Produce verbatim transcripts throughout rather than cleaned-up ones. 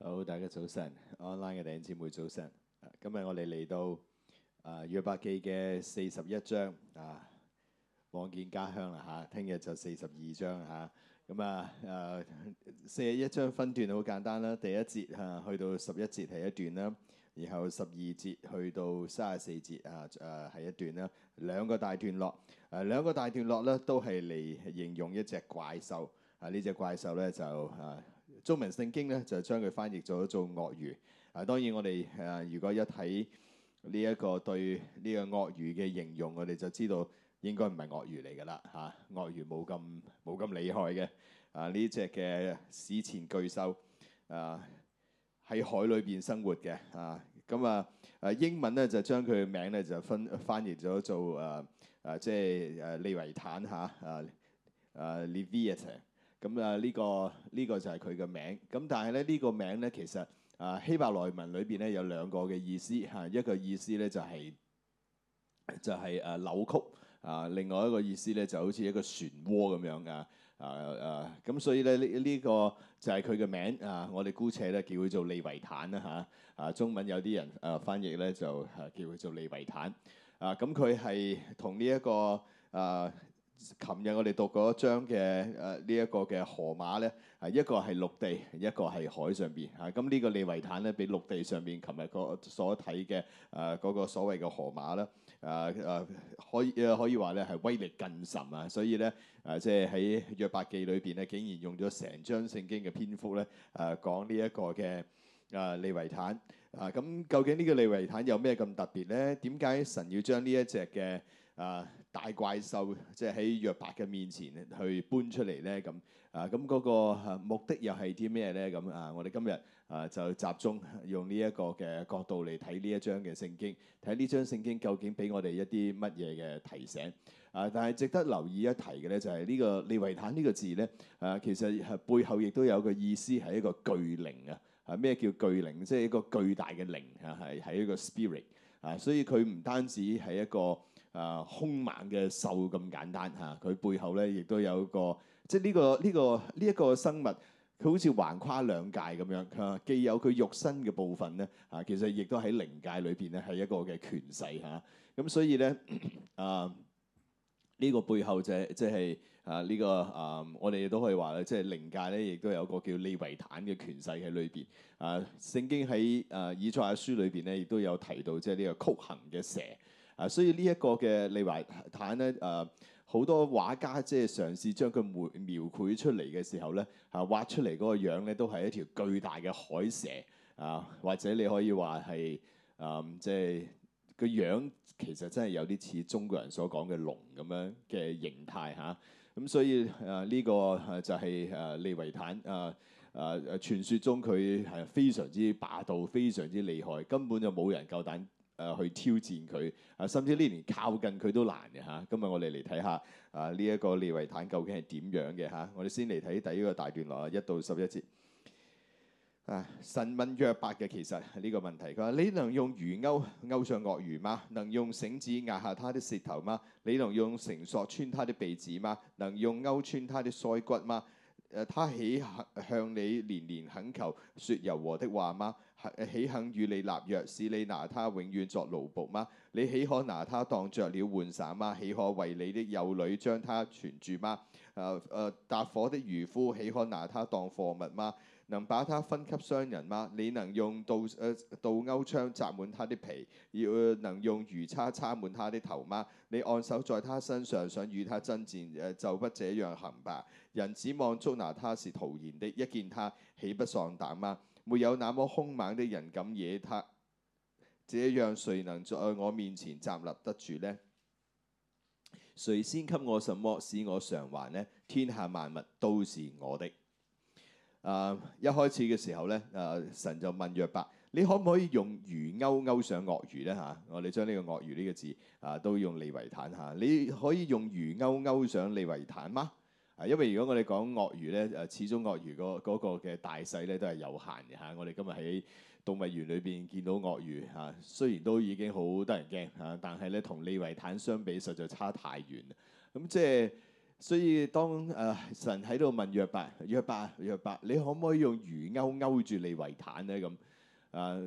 好，大家早晨，online 嘅弟兄姊妹早晨。啊今日我哋嚟到啊約伯記嘅四十一章啊，望見家鄉啦嚇。聽日就四十二章嚇。咁啊誒四十一章分段好簡單啦，第一節嚇去到十一節係一段啦，然後十二節去到三十四節啊誒係一段啦，兩個大段落。誒兩個大段落咧都係嚟形容一隻怪獸。啊呢隻怪獸咧就啊〜中文聖經咧就將佢翻譯咗做鱷魚。啊，當然我哋誒、啊、如果一睇呢一個對呢個鱷魚嘅形容，我哋就知道應該唔係鱷魚嚟㗎啦嚇。鱷魚冇咁冇咁厲害嘅。啊呢隻嘅史前巨獸啊喺海裏邊生活嘅啊。咁啊誒英文咧就將佢嘅名咧就分翻譯咗做誒誒即係誒利維坦嚇啊誒 Leviathan。咁啊呢個呢個就係佢嘅名。咁但係咧呢個名咧其實啊希伯來文裏邊咧有兩個嘅意思嚇，一個意思咧就係就係誒扭曲啊，另外一個意思咧就好似一個漩渦咁樣啊啊啊咁，所以咧呢呢個就係佢嘅名啊。我哋姑且咧叫佢做利維坦啦嚇啊。中文有啲人誒翻譯咧就叫佢做利維坦啊。咁佢係同呢一個啊。琴日我哋讀嗰章嘅誒呢一個嘅河馬咧，係一個係陸地，一個係海上邊嚇。咁呢個利維坦咧，比陸地上邊琴日個所睇嘅誒嗰個所謂嘅河馬啦，誒誒可以可以話咧係威力更甚啊！所以咧誒即係喺約伯記裏邊咧，竟然用咗成章聖經嘅篇幅咧誒講呢一個嘅誒利維坦啊。咁究竟呢個利維坦有咩咁特別咧？點解神要將呢一隻嘅啊大怪獸即係喺約伯嘅面前去搬出嚟咧？咁啊咁嗰個目的又係啲咩咧？咁啊我哋今日啊就集中用呢一個嘅角度嚟睇呢一章嘅聖經，睇呢章聖經究竟俾我哋一啲乜嘢嘅提醒啊？但係值得留意一提嘅咧，就係呢個利維坦呢個字咧啊，其實係背後亦都有個意思係一個巨靈啊！啊咩叫巨靈？即係一個巨大嘅靈啊，係係一個 spirit 啊，所以佢唔單止係一個啊，兇猛嘅獸咁簡單嚇，佢、啊、背後咧亦都有一個，即係、呢、呢個呢、呢個呢一、呢個生物，佢好似橫跨兩界咁樣、啊，既有佢肉身嘅部分咧，啊，其實亦都喺靈界裏邊咧係一個嘅權勢嚇，咁、啊、所以咧啊，呢、呢個背後就係即係啊呢、呢個啊，我哋都可以話咧，即係靈界咧亦都有個叫利維坦嘅權勢喺裏邊啊。聖經喺啊以賽亞書裏邊咧亦都有提到，即係呢個曲行嘅蛇。啊，所以呢一個嘅利維坦咧，誒、啊、好多畫家即係嘗試將佢描描繪出嚟嘅時候咧，啊畫出嚟嗰個樣咧都係一條巨大嘅海蛇啊，或者你可以話係誒即係個樣其實真係有啲似中國人所講嘅龍咁樣嘅形態嚇。咁、啊、所以誒呢、啊這個就係誒利維坦誒誒誒傳說中佢係非常之霸道、非常之厲害，根本就冇人夠膽誒去挑戰佢啊，甚至呢連靠近佢都難嘅嚇。今日我哋嚟睇下啊呢一個利維坦究竟係點樣嘅嚇。我哋先嚟睇第一個大段落啊，一到十一節啊。神問約伯嘅其實係呢個問題，佢話：你能用魚鈎鈎上鱷魚嗎？能用繩子壓下他的舌頭嗎？你能用繩索穿他的鼻子嗎？能用鈎穿他的腮骨嗎？誒，他豈向你連連懇求，説柔和的話嗎？豈肯與你立約，使你拿他永遠作奴僕嗎？你豈可拿他當作了玩耍嗎？豈可為你的幼女將他存住嗎？誒誒，搭伙的漁夫豈可拿他當貨物嗎？能把他分給商人嗎？你能用刀誒、呃、刀鈎槍扎滿他的皮，要能用魚叉插滿他的頭嗎？你按手在他身上，想與他爭戰，誒就不這樣行吧。人指望捉拿他是徒然的，一見他豈不喪膽嗎？沒有那麼兇猛的人敢惹他，這樣誰能在我面前站立得住呢？誰先給我什麼使我償還呢？天下萬物都是我的。啊！一開始嘅時候咧，啊神就問約伯：你可唔可以用魚鈎鈎上鱷魚咧？嚇、啊！我哋將呢個鱷魚呢個字啊都用利維坦嚇、啊。你可以用魚鈎鈎上利維坦嗎？啊，因為如果我哋講鱷魚咧，誒、啊、始終鱷魚嗰嗰個嘅大細咧都係有限嘅嚇、啊。我哋今日喺動物園裏邊見到鱷魚嚇、啊，雖然都已經好得人驚嚇，但係咧同利維坦相比，實在差太遠。咁、啊、即係。 所以當誒、呃、神喺度問約伯，約伯約伯，你可唔可以用魚鈎勾住利維坦咧？咁啊、呃，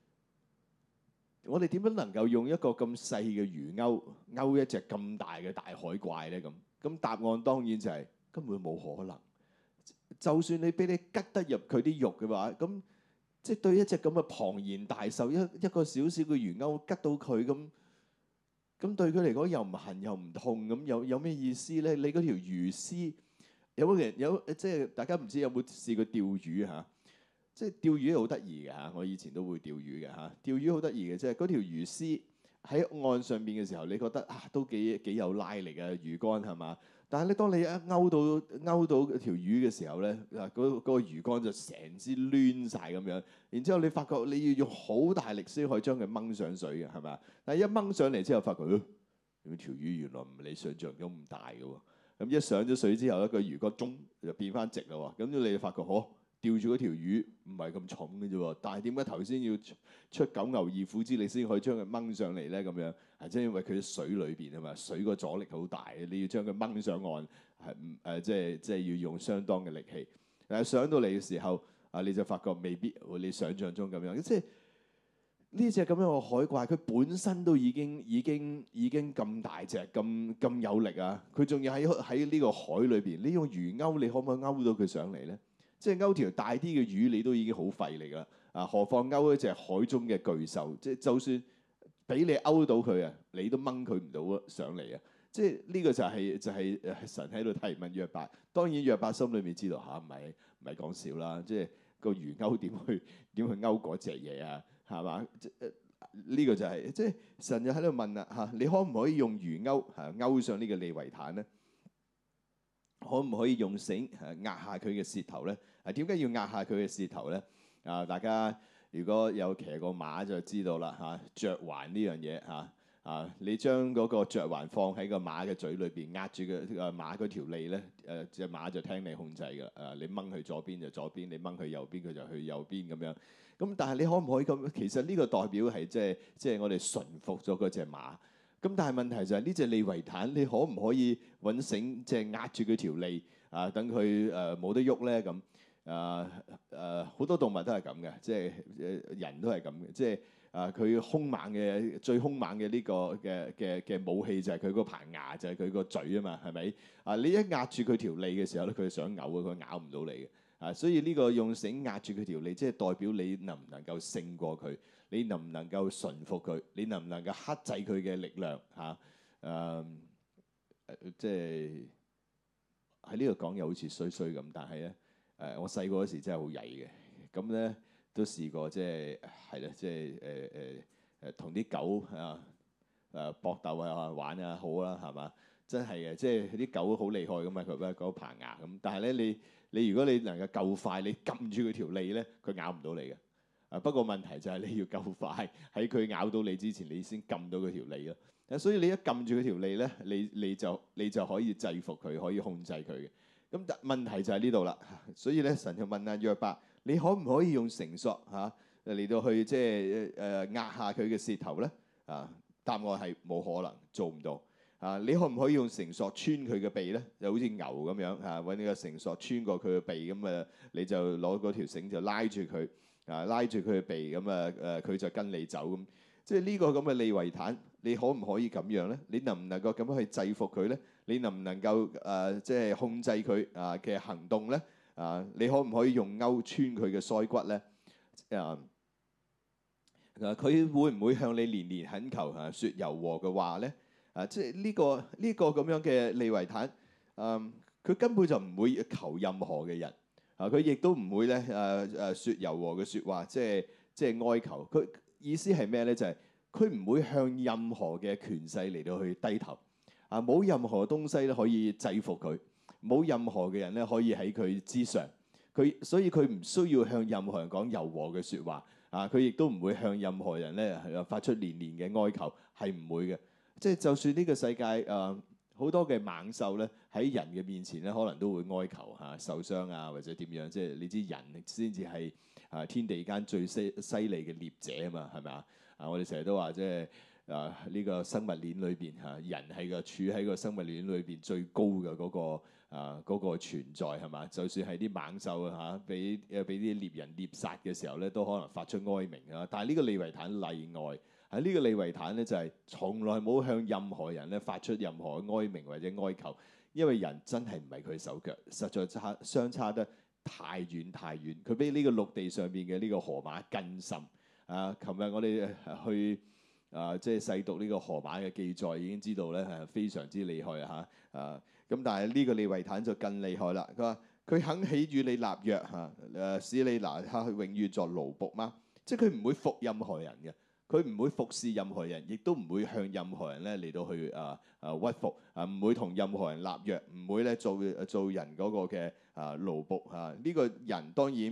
我哋點樣能夠用一個咁細嘅魚鈎勾一隻咁大嘅大海怪咧？咁咁答案當然就係、是、根本冇可能。就算你俾你吉得入佢啲肉嘅話，咁即係對一隻咁嘅龐然大獸，一一個小小嘅魚鈎吉到佢咁。咁對佢嚟講又唔痕又唔痛，咁有有咩意思咧？你嗰條魚絲有冇人有即係大家唔知有冇試過釣魚嚇？即係釣魚好得意嘅嚇，我以前都會釣魚嘅嚇。釣魚好得意嘅，即係嗰條魚絲喺岸上邊嘅時候，你覺得啊都幾幾有拉力嘅魚竿係嘛？但係咧，當你一勾到勾到條魚嘅時候咧，啊嗰嗰個魚竿就成支攣晒咁樣，然之後你發覺你要用好大力先可以將佢掹上水嘅係咪？但係一掹上嚟之後，發覺，咦、呃，條魚原來唔係你想象中咁大嘅喎。咁一上咗水之後，一個魚竿中就變翻直啦喎。咁你就發覺，嗬，吊住嗰條魚唔係咁重嘅啫喎。但係點解頭先要出九牛二虎之力先可以將佢掹上嚟咧？咁樣係即係因為佢喺水裏邊啊嘛，水個阻力好大，你要將佢掹上岸係唔誒，即係即係要用相當嘅力氣。但係上到嚟嘅時候，啊你就發覺未必你想象中咁樣，即係。呢隻咁樣嘅海怪，佢本身都已經已經已經咁大隻，咁咁有力啊！佢仲要喺喺呢個海裏邊，你用魚鈎，你可唔可以勾到佢上嚟咧？即係勾條大啲嘅魚，你都已經好費力啦。啊，何況勾一隻海中嘅巨獸，即係就算俾你勾到佢啊，你都掹佢唔到上嚟啊！即係呢個就係就係誒神喺度提問約伯。當然約伯心裏面知道嚇，唔係唔係講笑啦。即係個魚鈎點去點去勾嗰隻嘢啊？係嘛？即係呢個就係、是、即係神就喺度問啦嚇，你可唔可以用魚鈎嚇勾上呢個利維坦咧？可唔可以用繩嚇壓下佢嘅舌頭咧？啊，點解要壓下佢嘅舌頭咧？啊，大家如果有騎過馬就知道啦嚇，嚼環呢樣嘢嚇啊，你將嗰個嚼環放喺個馬嘅嘴裏邊，壓住個誒馬嗰條脷咧，誒隻馬就聽你控制㗎。誒，你掹去左邊就左邊，你掹去右邊佢就去右邊咁樣。咁但係你可唔可以咁？其實呢個代表係即係即係我哋馴服咗嗰隻馬。咁但係問題就係呢隻利維坦，你可唔可以揾繩即係壓住佢條脷啊？等佢誒冇得喐咧咁啊誒好多動物都係咁嘅，即係誒人都係咁嘅，即係啊佢兇猛嘅最兇猛嘅呢個嘅嘅嘅武器就係佢嗰排牙，就係佢個嘴啊嘛，係咪啊？你一壓住佢條脷嘅時候咧，佢想嘔啊，佢咬唔到你嘅。啊，所以呢個用繩壓住佢條脷，即係代表你能唔能夠勝過佢，你能唔能夠馴服佢，你能唔能夠克制佢嘅力量嚇？誒、啊呃，即係喺呢度講又好似衰衰咁，但係咧誒，我細個嗰時真係好曳嘅，咁咧都試過即係係啦，即係誒誒誒同啲狗啊誒搏鬥啊玩啊好啦係嘛？真係嘅，即係啲狗好厲害㗎嘛，佢嗰嗰棚牙咁，但係咧你。你如果你能夠夠快，你撳住佢條脷咧，佢咬唔到你嘅。啊，不過問題就係你要夠快，喺佢咬到你之前，你先撳到佢條脷咯。啊，所以你一撳住佢條脷咧，你你就你就可以制服佢，可以控制佢嘅。咁但問題就喺呢度啦。所以咧，神就問阿約伯：你可唔可以用繩索嚇嚟到去即係誒壓下佢嘅舌頭咧？啊，答案係冇可能，做唔到。啊！你可唔可以用繩索穿佢嘅鼻咧？就好似牛咁樣嚇，揾呢個繩索穿過佢嘅鼻咁啊，你就攞嗰條繩就拉住佢啊，拉住佢嘅鼻咁啊誒，佢就跟你走咁。即係呢個咁嘅利維坦，你可唔可以咁樣咧？你能唔能夠咁樣去制服佢咧？你能唔能夠誒即係控制佢啊嘅行動咧？啊！你可唔可以用鈎穿佢嘅腮骨咧？啊！佢會唔會向你連連懇求啊，説柔和嘅話咧？啊！即係呢個呢個咁樣嘅利維坦，嗯，佢根本就唔會求任何嘅人，啊，佢亦都唔會咧誒誒説柔和嘅説話，即係即係哀求。佢意思係咩咧？就係佢唔會向任何嘅權勢嚟到去低頭，啊，冇任何東西咧可以制服佢，冇任何嘅人咧可以喺佢之上。佢所以佢唔需要向任何人講柔和嘅説話，啊，佢亦都唔會向任何人咧係發出連連嘅哀求，係唔會嘅。即係就算呢個世界誒好、呃、多嘅猛獸咧喺人嘅面前咧，可能都會哀求嚇、啊、受傷啊或者點樣。即係你知人先至係啊天地間最犀犀利嘅獵者啊嘛，係咪啊？啊我哋成日都話即係啊呢個生物鏈裏邊嚇，人係個處喺個生物鏈裏邊最高嘅嗰個。啊，嗰、那個存在係嘛？就算係啲猛獸嚇，俾誒俾啲獵人獵殺嘅時候咧，都可能發出哀鳴啊！但係呢個利維坦例外，喺呢個利維坦咧就係、是、從來冇向任何人咧發出任何哀鳴或者哀求，因為人真係唔係佢手腳，實在差相差得太遠太遠。佢比呢個陸地上邊嘅呢個河馬更深啊！琴日我哋去啊，即係細讀呢個河馬嘅記載，已經知道咧係非常之厲害嚇啊！咁但係呢個利維坦就更厲害啦。佢話佢肯起與你立約嚇，誒、啊、使你拿他永遠作奴僕嗎？即係佢唔會服任何人嘅，佢唔會服侍任何人，亦都唔會向任何人咧嚟到去啊啊屈服啊，唔會同任何人立約，唔會咧做做人嗰個嘅啊奴僕嚇。呢、啊這個人當然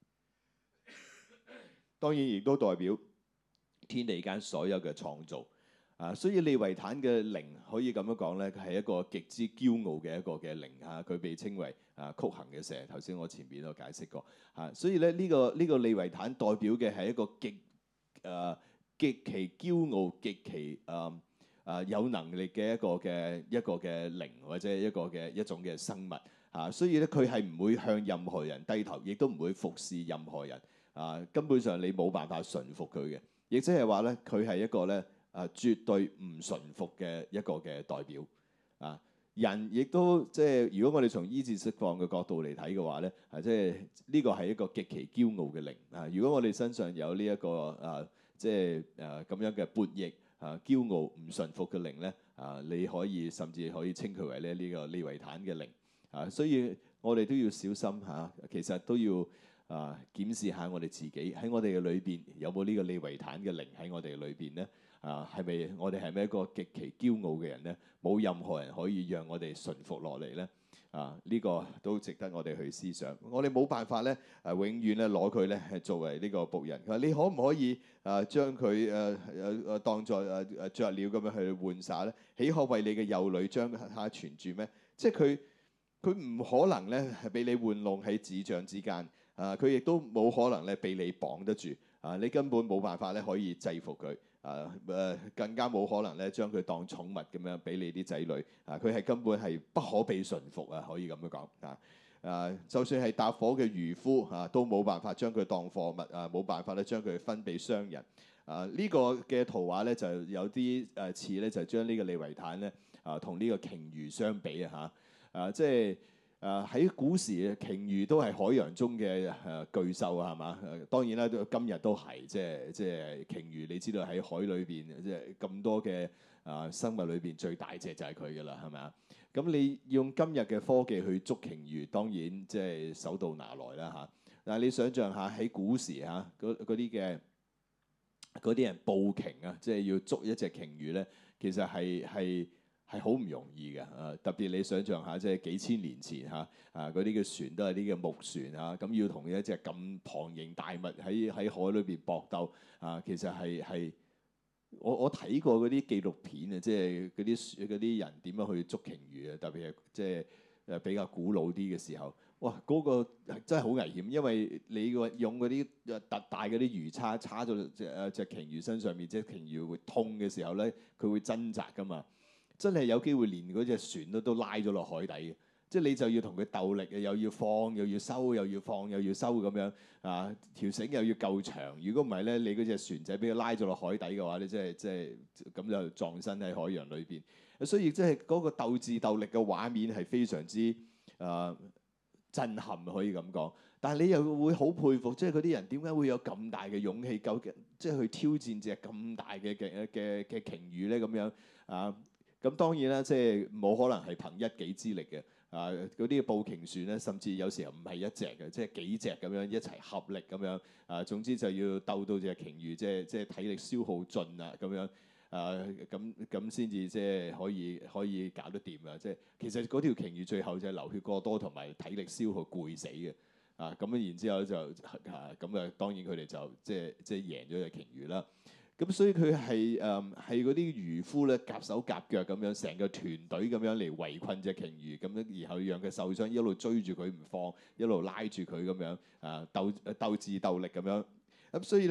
當然亦都代表天地間所有嘅創造。啊，所以利維坦嘅靈可以咁樣講咧，佢係一個極之驕傲嘅一個嘅靈嚇，佢被稱為啊曲行嘅蛇。頭先我前邊都解釋過嚇，所以咧呢個呢個利維坦代表嘅係一個極誒極其驕傲、極其誒誒有能力嘅一個嘅一個嘅靈或者一個嘅一種嘅生物嚇，所以咧佢係唔會向任何人低頭，亦都唔會服侍任何人啊，根本上你冇辦法順服佢嘅，亦即係話咧佢係一個咧。啊，絕對唔順服嘅一個嘅代表啊！人亦都即係，如果我哋從醫治釋放嘅角度嚟睇嘅話咧，啊，即係呢個係一個極其驕傲嘅靈啊！如果我哋身上有呢、這、一個啊，即係誒咁樣嘅叛逆啊、驕傲唔順服嘅靈咧啊，你可以甚至可以稱佢為咧呢個利維坦嘅靈啊！所以我哋都要小心嚇、啊，其實都要啊檢視下我哋自己喺我哋嘅裏邊有冇呢個利維坦嘅靈喺我哋嘅裏邊咧。啊，係咪我哋係咪一個極其驕傲嘅人咧？冇任何人可以讓我哋順服落嚟咧。啊，呢、這個都值得我哋去思想。我哋冇辦法咧，誒、啊、永遠咧攞佢咧係作為呢個僕人。佢話你可唔可以誒將佢誒誒誒當作誒誒雀鳥咁樣去玩耍咧？豈可為你嘅幼女將它存住咩？即係佢佢唔可能咧係俾你玩弄喺指掌之間。啊，佢亦都冇可能咧俾你綁得住。啊，你根本冇辦法咧可以制服佢。啊誒，更加冇可能咧將佢當寵物咁樣俾你啲仔女啊！佢係根本係不可被馴服啊，可以咁樣講啊！啊，就算係搭伙嘅漁夫啊，都冇辦法將佢當貨物啊，冇辦法咧將佢分俾商人啊！呢、這個嘅圖畫咧就有啲誒似咧，就將呢個利維坦咧啊同呢個鯨魚相比啊嚇啊！即係。誒喺、呃、古時，鯨魚都係海洋中嘅誒、呃、巨獸啊，係嘛？誒當然啦，今日都係即係即係鯨魚。你知道喺海裏邊，即係咁多嘅啊、呃、生物裏邊最大隻就係佢㗎啦，係咪啊？咁你用今日嘅科技去捉鯨魚，當然即係手到拿來啦嚇。但係你想象下喺古時嚇嗰啲嘅嗰啲人捕鯨啊，即係要捉一隻鯨魚咧，其實係係。係好唔容易嘅，啊特別你想象下，即係幾千年前嚇，啊嗰啲嘅船都係啲嘅木船啊，咁要同一隻咁龐然大物喺喺海裏邊搏鬥啊，其實係係我我睇過嗰啲紀錄片啊，即係嗰啲嗰啲人點樣去捉鯨魚啊，特別係即係誒比較古老啲嘅時候，哇嗰個真係好危險，因為你個用嗰啲特大嗰啲魚叉叉到隻誒隻鯨魚身上面，即係鯨魚會痛嘅時候咧，佢會掙扎㗎嘛。真係有機會連嗰隻船都都拉咗落海底嘅，即係你就要同佢鬥力啊，又要放又要收，又要放又要收咁樣啊，條繩又要夠長。如果唔係咧，你嗰隻船仔俾佢拉咗落海底嘅話咧，即係即係咁就撞身喺海洋裏邊。所以即係嗰個鬥智鬥力嘅畫面係非常之誒、呃、震撼，可以咁講。但係你又會好佩服，即係嗰啲人點解會有咁大嘅勇氣，究竟即係去挑戰隻咁大嘅嘅嘅嘅鯨魚咧咁樣啊？咁當然啦，即係冇可能係憑一己之力嘅。啊，嗰啲捕鯨船咧，甚至有時候唔係一隻嘅，即係幾隻咁樣一齊合力咁樣。啊，總之就要鬥到隻鯨魚，即係即係體力消耗盡啦咁樣。啊，咁咁先至即係可以可以搞得掂啊！即係其實嗰條鯨魚最後就係流血過多同埋體力消耗攰死嘅。啊，咁然之後就啊咁啊，當然佢哋就即係即係贏咗隻鯨魚啦。咁所以佢係誒係嗰啲漁夫咧，夾手夾腳咁樣，成個團隊咁樣嚟圍困隻鯨魚，咁樣然後讓佢受傷，一路追住佢唔放，一路拉住佢咁樣啊鬥鬥智鬥力咁樣。咁所以咧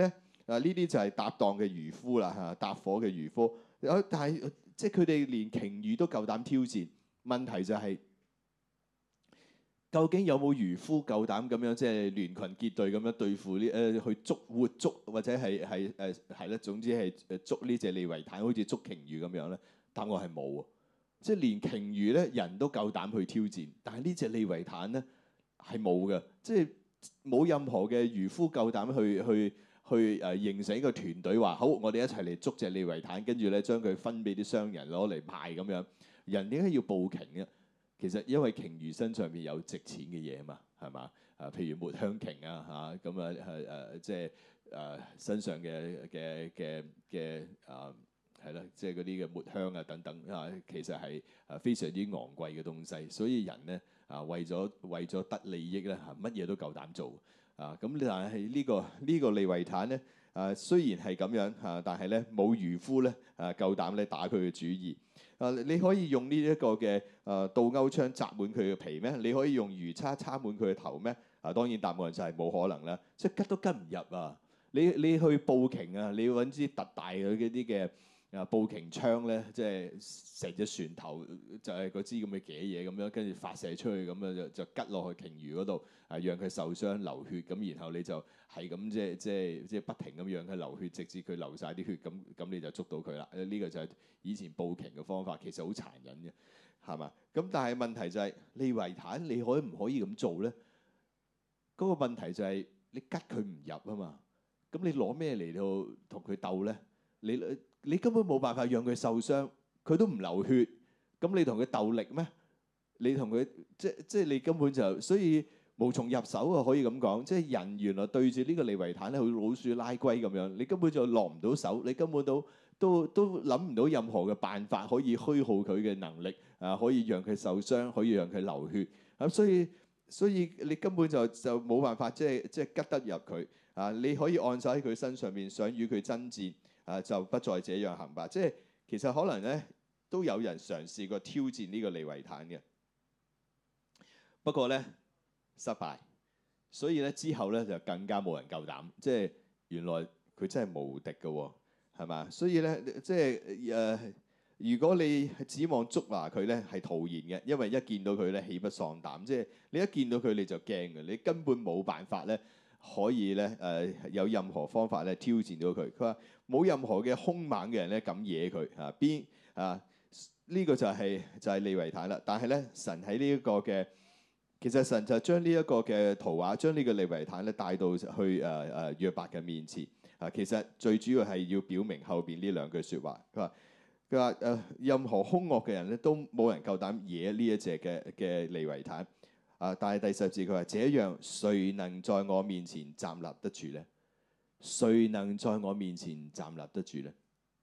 啊，呢啲就係搭檔嘅漁夫啦嚇，搭伙嘅漁夫。有但係即係佢哋連鯨魚都夠膽挑戰，問題就係、是。究竟有冇漁夫夠膽咁樣即係聯群結隊咁樣對付呢？誒、呃、去捉活捉或者係係誒係咧，總之係誒捉呢隻利維坦，好似捉鯨魚咁樣咧？答案係冇啊！即係連鯨魚咧人都夠膽去挑戰，但係呢隻利維坦咧係冇嘅，即係冇任何嘅漁夫夠膽去去去誒、呃、形成一個團隊話好，我哋一齊嚟捉隻利維坦，跟住咧將佢分俾啲商人攞嚟賣咁樣。人點解要報鯨嘅？其實因為鯨魚身上邊有值錢嘅嘢啊嘛，係嘛？啊，譬如抹香鯨啊嚇，咁啊係誒，即係誒身上嘅嘅嘅嘅啊係啦，即係嗰啲嘅抹香啊等等啊，其實係誒非常之昂貴嘅東西。所以人咧啊，為咗為咗得利益咧嚇，乜嘢都夠膽做啊！咁但係呢個呢個利維坦咧啊，雖然係咁樣嚇，但係咧冇漁夫咧啊夠膽咧打佢嘅主意。啊！你可以用呢一個嘅誒倒鈎槍擲滿佢嘅皮咩？你可以用魚叉叉滿佢嘅頭咩？啊，當然答案就係冇可能啦，即係吉都吉唔入啊！你你去捕鯨啊，你要揾支特大嘅嗰啲嘅啊捕鯨槍咧，即係成隻船頭就係嗰支咁嘅嘅嘢咁樣，跟住發射出去咁樣就就吉落去鯨魚嗰度，啊讓佢受傷流血，咁然後你就係咁即係即係即係不停咁讓佢流血，直至佢流晒啲血，咁咁你就捉到佢啦。呢、這個就係以前捕鯨嘅方法，其實好殘忍嘅，係嘛？咁但係問題就係、是、利維坦，你可唔可以咁做咧？嗰、那個問題就係、是、你吉佢唔入啊嘛。咁你攞咩嚟到同佢鬥咧？你你根本冇辦法讓佢受傷，佢都唔流血。咁你同佢鬥力咩？你同佢即即係你根本就所以無從入手啊！可以咁講，即係人原來對住呢個利維坦咧，好似老鼠拉龜咁樣，你根本就落唔到手，你根本都都都諗唔到任何嘅辦法可以虛耗佢嘅能力啊，可以讓佢受傷，可以讓佢流血。咁所以所以你根本就就冇辦法即係即係吉得入佢啊！你可以按手喺佢身上面，想與佢爭戰啊，就不再這樣行吧。即係其實可能咧都有人嘗試過挑戰呢個利維坦嘅。不過咧失敗，所以咧之後咧就更加冇人夠膽，即係原來佢真係無敵嘅喎，係嘛？所以咧即係誒、呃，如果你指望捉拿佢咧係徒然嘅，因為一見到佢咧喜不喪膽，即係你一見到佢你就驚嘅，你根本冇辦法咧可以咧誒、呃、有任何方法咧挑戰到佢。佢話冇任何嘅兇猛嘅人咧敢惹佢啊，邊啊呢、這個就係、是、就係、是、利維坦啦。但係咧神喺呢一個嘅其實神就將呢一個嘅圖畫，將呢個利維坦咧帶到去誒誒約伯嘅面前。啊，其實最主要係要表明後邊呢兩句説話。佢話佢話誒，任何兇惡嘅人咧都冇人夠膽惹呢一隻嘅嘅利維坦。啊，但係第十字佢話：這樣誰能在我面前站立得住咧？誰能在我面前站立得住咧？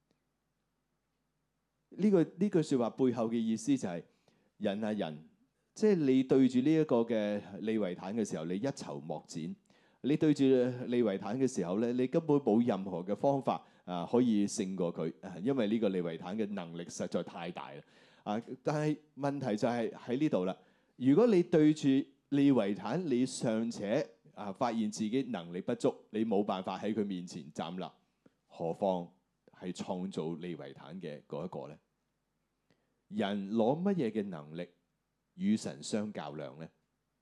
呢個呢句説話背後嘅意思就係、是、人啊人。即係你對住呢一個嘅利維坦嘅時候，你一籌莫展。你對住利維坦嘅時候咧，你根本冇任何嘅方法啊可以勝過佢，因為呢個利維坦嘅能力實在太大啦。啊，但係問題就係喺呢度啦。如果你對住利維坦，你尚且啊發現自己能力不足，你冇辦法喺佢面前站立，何況係創造利維坦嘅嗰一個咧？人攞乜嘢嘅能力與神相較量咧？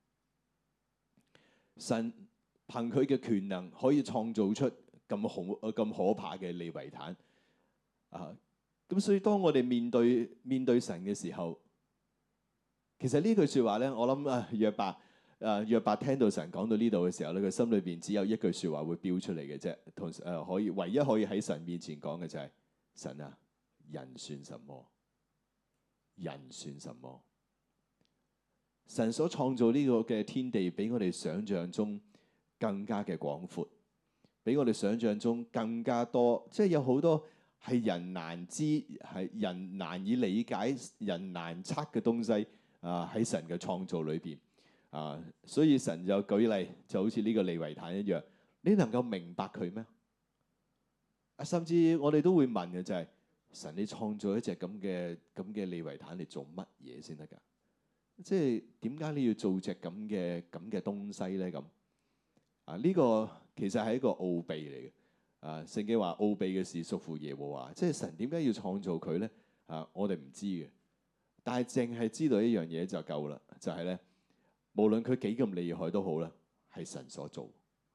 神憑佢嘅權能可以創造出咁恐咁可怕嘅利維坦啊！咁所以當我哋面對面對神嘅時候，其實呢句説話咧，我諗啊約伯啊約伯聽到神講到呢度嘅時候咧，佢心裏邊只有一句説話會飆出嚟嘅啫，同誒、啊、可以唯一可以喺神面前講嘅就係、是、神啊，人算什麼？人算什麼？神所創造呢個嘅天地，比我哋想象中更加嘅廣闊，比我哋想象中更加多，即係有好多係人難知、係人難以理解、人難測嘅東西啊！喺神嘅創造裏邊啊，所以神就舉例，就好似呢個利維坦一樣，你能夠明白佢咩？啊，甚至我哋都會問嘅就係、是、神，你創造一隻咁嘅咁嘅利維坦嚟做乜嘢先得㗎？即係點解你要做隻咁嘅咁嘅東西咧？咁啊呢個其實係一個奧秘嚟嘅。 啊，聖經話奧秘嘅事屬乎耶和華，即係神點解要創造佢咧？啊，我哋唔知嘅，但係淨係知道一樣嘢就夠啦，就係咧，無論佢幾咁厲害都好啦，係神所做。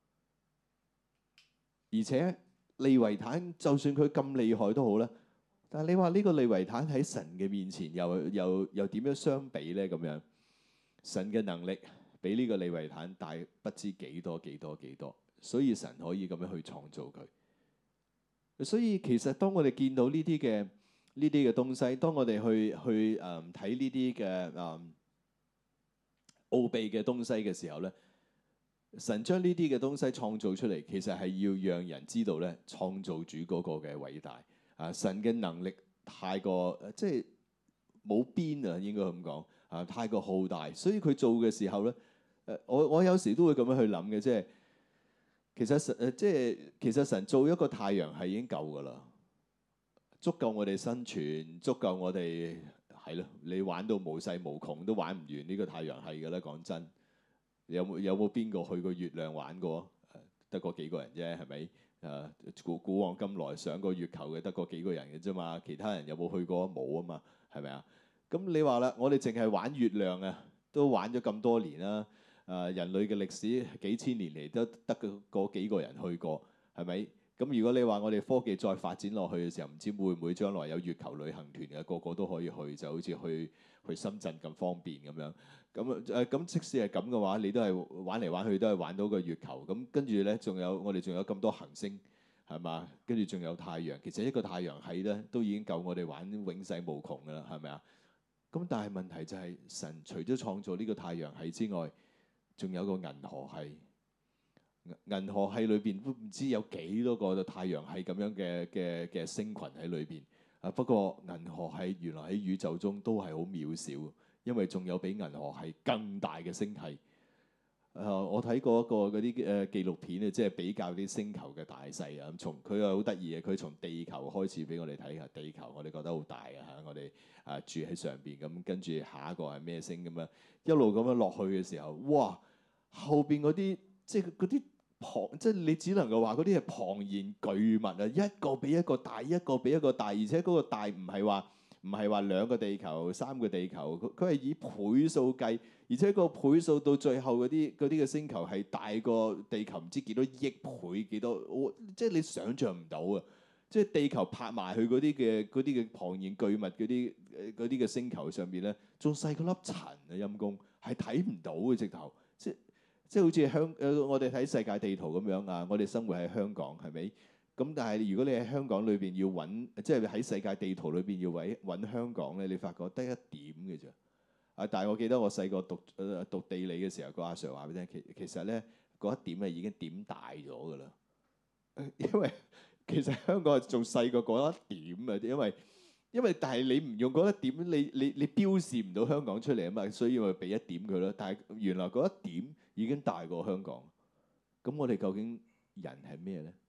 而且利維坦就算佢咁厲害都好啦，但係你話呢個利維坦喺神嘅面前又又又點樣相比咧？咁樣神嘅能力比呢個利維坦大不知幾多幾多幾多，所以神可以咁樣去創造佢。所以其實當我哋見到呢啲嘅呢啲嘅東西，當我哋去去誒睇呢啲嘅誒奧秘嘅東西嘅時候咧，神將呢啲嘅東西創造出嚟，其實係要讓人知道咧，創造主嗰個嘅偉大啊！神嘅能力太過即係冇邊啊，應該咁講啊，太過浩大，所以佢做嘅時候咧，誒我我有時都會咁樣去諗嘅，即係其實神誒即係其實神做一個太陽係已經夠㗎啦，足夠我哋生存，足夠我哋係咯，你玩到無世無窮都玩唔完呢個太陽系㗎啦，講真。有冇有冇邊個去過月亮玩過？得嗰幾個人啫，係咪？誒古古往今來上過月球嘅得嗰幾個人嘅啫嘛，其他人有冇去過？冇啊嘛，係咪啊？咁你話啦，我哋淨係玩月亮啊，都玩咗咁多年啦。誒人類嘅歷史幾千年嚟都得嗰幾個人去過，係咪？咁如果你話我哋科技再發展落去嘅時候，唔知會唔會將來有月球旅行團嘅，個個都可以去，就好似去去深圳咁方便咁樣。咁誒咁，即使係咁嘅話，你都係玩嚟玩去都係玩到個月球。咁跟住咧，仲有我哋仲有咁多行星，係嘛？跟住仲有太陽。其實一個太陽系咧，都已經夠我哋玩永世無窮㗎啦，係咪啊？咁但係問題就係、是、神除咗創造呢個太陽系之外，仲有個銀河系。銀河系裏邊都唔知有幾多個太陽系咁樣嘅嘅嘅星群喺裏邊。啊，不過銀河系原來喺宇宙中都係好渺小。因為仲有比銀河系更大嘅星系。誒、呃，我睇過一個嗰啲誒紀錄片啊，即係比較啲星球嘅大細啊。咁從佢又好得意嘅，佢從地球開始俾我哋睇下地球，我哋覺得好大啊嚇。我哋啊住喺上邊，咁跟住下一個係咩星咁樣，一路咁樣落去嘅時候，哇！後邊嗰啲即係嗰啲龐，即係你只能夠話嗰啲係龐然巨物啊，一個比一個大，一個比一個大，而且嗰個大唔係話。唔係話兩個地球、三個地球，佢佢係以倍數計，而且個倍數到最後嗰啲嗰啲嘅星球係大過地球唔知幾多億倍幾多，我即係你想像唔到啊！即係地球拍埋去嗰啲嘅嗰啲嘅龐然巨物嗰啲嗰啲嘅星球上邊咧，仲細過粒塵啊！陰公係睇唔到嘅直頭，即即係好似香誒我哋睇世界地圖咁樣啊！我哋生活喺香港係咪？咁但係如果你喺香港裏邊要揾，即係喺世界地圖裏邊要揾揾香港咧，你發覺得一點嘅啫。啊！但係我記得我細個讀誒讀地理嘅時候，個阿 Sir 話俾你聽，其其實咧嗰一點係已經點大咗㗎啦。因為其實香港係仲細過嗰一點啊，因為因為但係你唔用嗰一點，你你你標示唔到香港出嚟啊嘛，所以我俾一點佢咯。但係原來嗰一點已經大過香港。咁我哋究竟人係咩咧？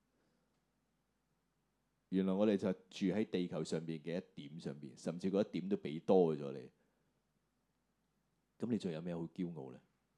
原來我哋就住喺地球上邊嘅一點上邊，甚至嗰一點都俾多咗你。咁你仲有咩好驕傲咧？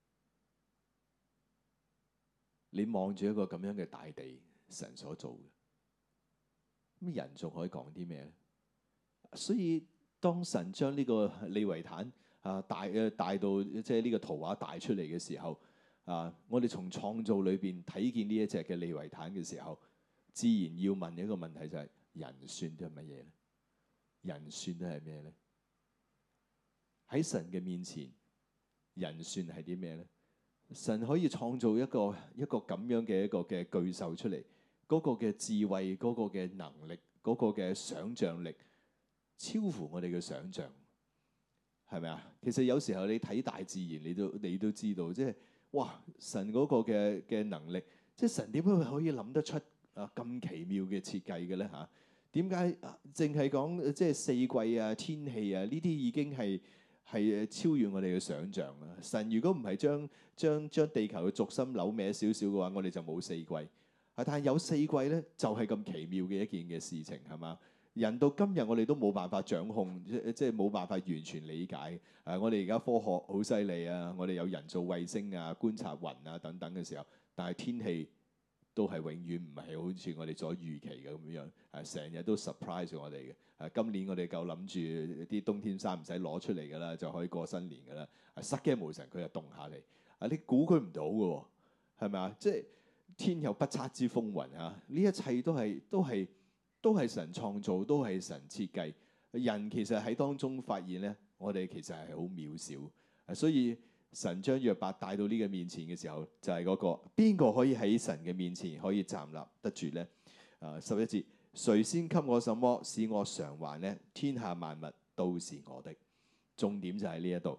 你望住一個咁樣嘅大地，神所做嘅，咁人仲可以講啲咩咧？所以當神將呢個利維坦啊帶誒帶到即係呢個圖畫帶出嚟嘅時候，啊，我哋從創造裏邊睇見呢一隻嘅利維坦嘅時候，自然要問一個問題就係：人算得係乜嘢咧？人算得係咩咧？喺神嘅面前，人算係啲咩咧？神可以創造一個一個咁樣嘅一個嘅巨獸出嚟，嗰個嘅智慧、嗰個嘅能力、嗰個嘅想像力，超乎我哋嘅想像，係咪啊？其實有時候你睇大自然，你都你都知道，即係哇！神嗰個嘅嘅能力，即係神點解可以諗得出啊咁奇妙嘅設計嘅咧嚇？點解淨係講即係四季啊、天氣啊呢啲已經係係超越我哋嘅想像啦！神如果唔係將將將地球嘅軸心扭歪少少嘅話，我哋就冇四季。啊，但係有四季咧，就係咁奇妙嘅一件嘅事情，係嘛？人到今日我哋都冇辦法掌控，即即係冇辦法完全理解。誒、啊，我哋而家科學好犀利啊！我哋有人造衛星啊、觀察雲啊等等嘅時候，但係天氣都係永遠唔係好似我哋所預期嘅咁樣，誒成日都 surprise 我哋嘅。誒、啊、今年我哋夠諗住啲冬天衫唔使攞出嚟㗎啦，就可以過新年㗎啦。啊，失驚無神佢又凍下嚟，啊你估佢唔到嘅喎，係咪啊？即係天有不測之風雲啊！呢一切都係都係都係神創造，都係神設計。人其實喺當中發現咧，我哋其實係好渺小，啊，所以神將約伯帶到呢個面前嘅時候，就係嗰個邊個可以喺神嘅面前可以站立得住咧？啊，十一節，誰先給我什麼使我償還呢？天下萬物都是我的。重點就喺呢一度，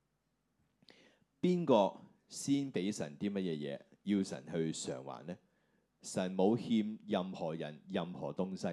邊個先俾神啲乜嘢嘢，要神去償還呢？神冇欠任何人任何東西。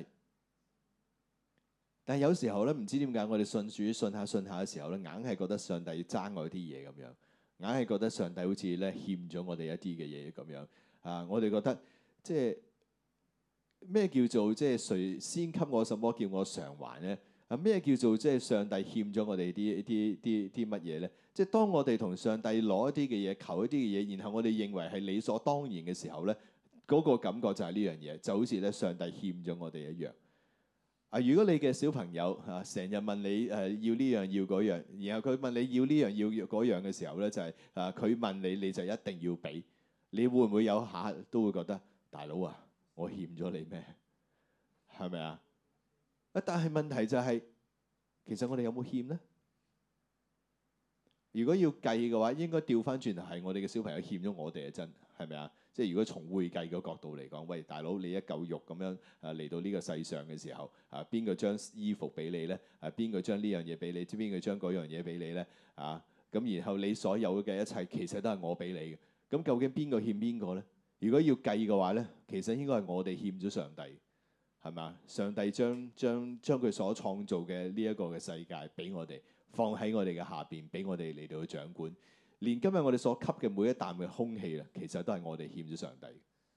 但係有時候咧，唔知點解我哋信主信下信下嘅時候咧，硬係覺得上帝爭我啲嘢咁樣，硬係覺得上帝好似咧欠咗我哋一啲嘅嘢咁樣啊！我哋覺得即係咩叫做即係誰先給我什麼叫我償還咧？啊，咩叫做即係上帝欠咗我哋啲啲啲啲乜嘢咧？即係當我哋同上帝攞一啲嘅嘢，求一啲嘅嘢，然後我哋認為係理所當然嘅時候咧，嗰個感覺就係呢樣嘢，就好似咧上帝欠咗我哋一樣。啊！如果你嘅小朋友啊，成日問你誒、啊、要呢樣要嗰樣，然後佢問你要呢樣要嗰樣嘅時候咧，就係、是、啊佢問你你就一定要俾，你會唔會有下都會覺得大佬啊，我欠咗你咩？係咪啊？啊！但係問題就係、是，其實我哋有冇欠咧？如果要計嘅話，應該調翻轉頭係我哋嘅小朋友欠咗我哋啊！真係咪啊？即係如果從會計嘅角度嚟講，喂，大佬你一嚿肉咁樣啊嚟到呢個世上嘅時候，啊邊個將衣服俾你咧？啊邊個將呢樣嘢俾你？知邊個將嗰樣嘢俾你咧？啊咁然後你所有嘅一切其實都係我俾你嘅。咁究竟邊個欠邊個咧？如果要計嘅話咧，其實應該係我哋欠咗上帝，係嘛？上帝將將將佢所創造嘅呢一個嘅世界俾我哋，放喺我哋嘅下邊，俾我哋嚟到去掌管。連今日我哋所吸嘅每一啖嘅空氣啦，其實都係我哋欠咗上帝。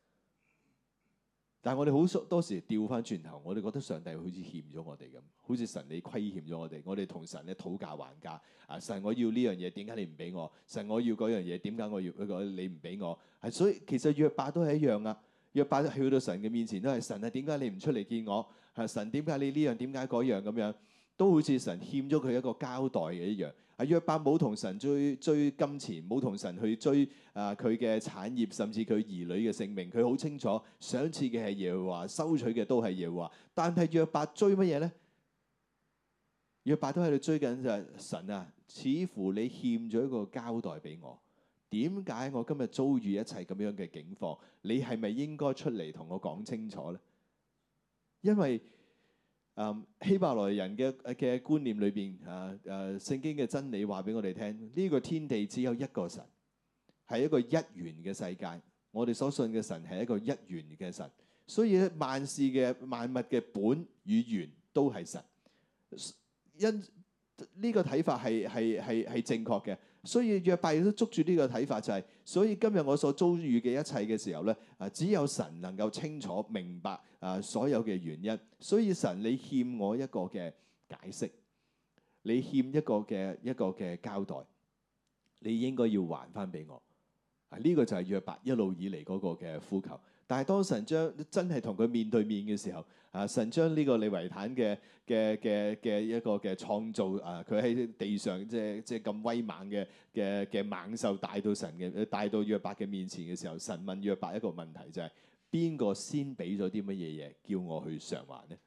但係我哋好多時調翻轉頭，我哋覺得上帝好似欠咗我哋咁，好似神你虧欠咗我哋。我哋同神咧討價還價啊！神我要呢樣嘢，點解你唔俾我？神我要嗰樣嘢，點解我要嗰個你唔俾我？係所以其實約伯都係一樣啊！約伯去到神嘅面前都係神啊！點解你唔出嚟見我？係神點解你呢樣點解嗰樣咁樣？都好似神欠咗佢一個交代嘅一樣。啊，約伯冇同神追追金錢，冇同神去追啊佢嘅產業，甚至佢兒女嘅性命。佢好清楚，賞賜嘅係耶和華，收取嘅都係耶和華。但係約伯追乜嘢咧？約伯都喺度追緊就係神啊！似乎你欠咗一個交代俾我。點解我今日遭遇一切咁樣嘅境況？你係咪應該出嚟同我講清楚咧？因為Um, 希伯來人嘅嘅觀念裏邊，啊誒聖經嘅真理話俾我哋聽，呢、這個天地只有一個神，係一個一元嘅世界。我哋所信嘅神係一個一元嘅神，所以咧萬事嘅萬物嘅本與源都係神。因呢、這個睇法係係係係正確嘅。所以約伯亦都捉住呢個睇法，就係、是，所以今日我所遭遇嘅一切嘅時候咧，啊只有神能夠清楚明白啊所有嘅原因。所以神你欠我一個嘅解釋，你欠一個嘅一個嘅交代，你應該要還翻俾我。啊呢、這個就係約伯一路以嚟嗰個嘅呼求。但係當神將真係同佢面對面嘅時候，啊神將呢個利維坦嘅嘅嘅嘅一個嘅創造啊，佢喺地上即係即係咁威猛嘅嘅嘅猛獸帶到神嘅帶到約伯嘅面前嘅時候，神問約伯一個問題就係、是：邊個先俾咗啲乜嘢嘢叫我去償還呢？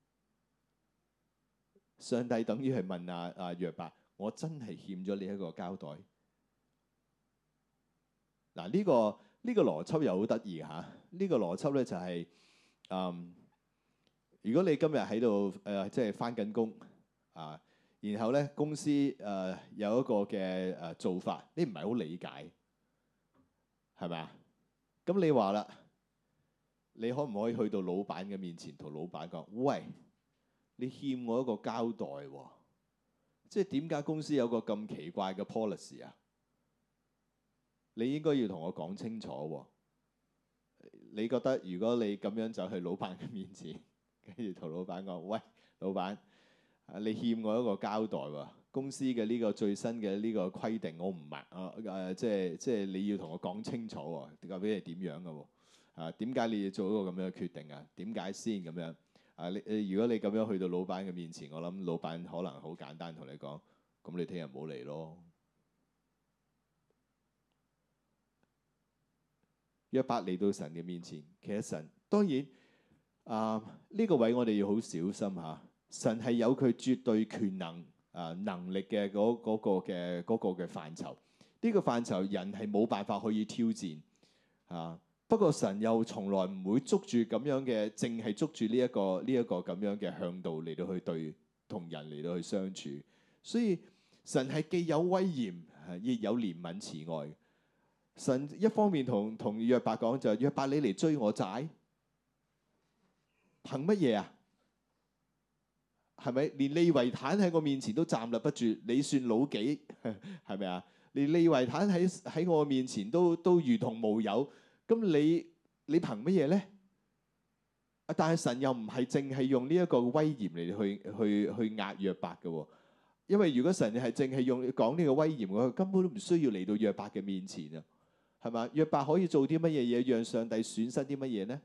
上帝等於係問啊啊約伯：我真係欠咗你一個交代？嗱、啊、呢、這個。呢個邏輯又好得意嚇，呢、這個邏輯咧就係、是，嗯，如果你今日喺度誒即係返緊工啊，然後咧公司誒、呃、有一個嘅誒做法，你唔係好理解，係咪啊？咁你話啦，你可唔可以去到老闆嘅面前同老闆講：喂，你欠我一個交代喎、哦，即係點解公司有個咁奇怪嘅 policy 啊？你應該要同我講清楚喎。你覺得如果你咁樣走去老闆嘅面前，跟住同老闆講：喂，老闆，你欠我一個交代喎。公司嘅呢個最新嘅呢個規定，我唔明啊誒，即係即係你要同我講清楚喎。究竟係點樣嘅喎？ 啊，點解你要做一個咁樣嘅決定啊？點解先咁樣？啊，你你如果你咁樣去到老闆嘅面前，我諗老闆可能好簡單同你講，咁你聽日唔好嚟咯。約伯嚟到神嘅面前，其實神當然啊呢、呢個位我哋要好小心嚇。神係有佢絕對權能啊能力嘅嗰嗰個嘅嗰個嘅範疇，呢、呢個範疇人係冇辦法可以挑戰啊。不過神又從來唔會捉住咁樣嘅，淨係捉住呢一個呢一個咁樣嘅向度嚟到去對同人嚟到去相處。所以神係既有威嚴，亦有憐憫慈愛。神一方面同同約伯講就係約伯，你嚟追我債，憑乜嘢啊？係咪連利維坦喺我面前都站立不住？你算老幾？係咪啊？連利維坦喺喺我面前都都如同無有，咁你你憑乜嘢咧？但係神又唔係淨係用呢一個威嚴嚟去去去壓約伯嘅喎，因為如果神係淨係用講呢個威嚴，佢根本都唔需要嚟到約伯嘅面前啊。係嘛？約伯可以做啲乜嘢嘢，讓上帝損失啲乜嘢呢？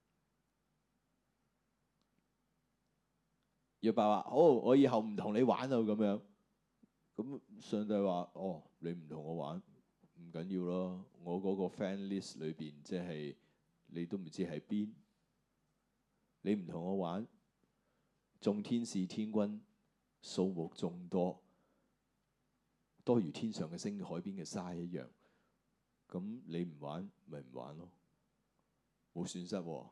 約伯話：好，我以後唔同你玩啊咁樣。咁上帝話：哦，你唔同我玩，唔緊要咯。我嗰個 friend list 裏邊，即係你都唔知喺邊。你唔同我玩，眾天使天軍數目眾多，多如天上嘅星、海邊嘅沙一樣。咁你唔玩咪唔玩咯，冇損失喎。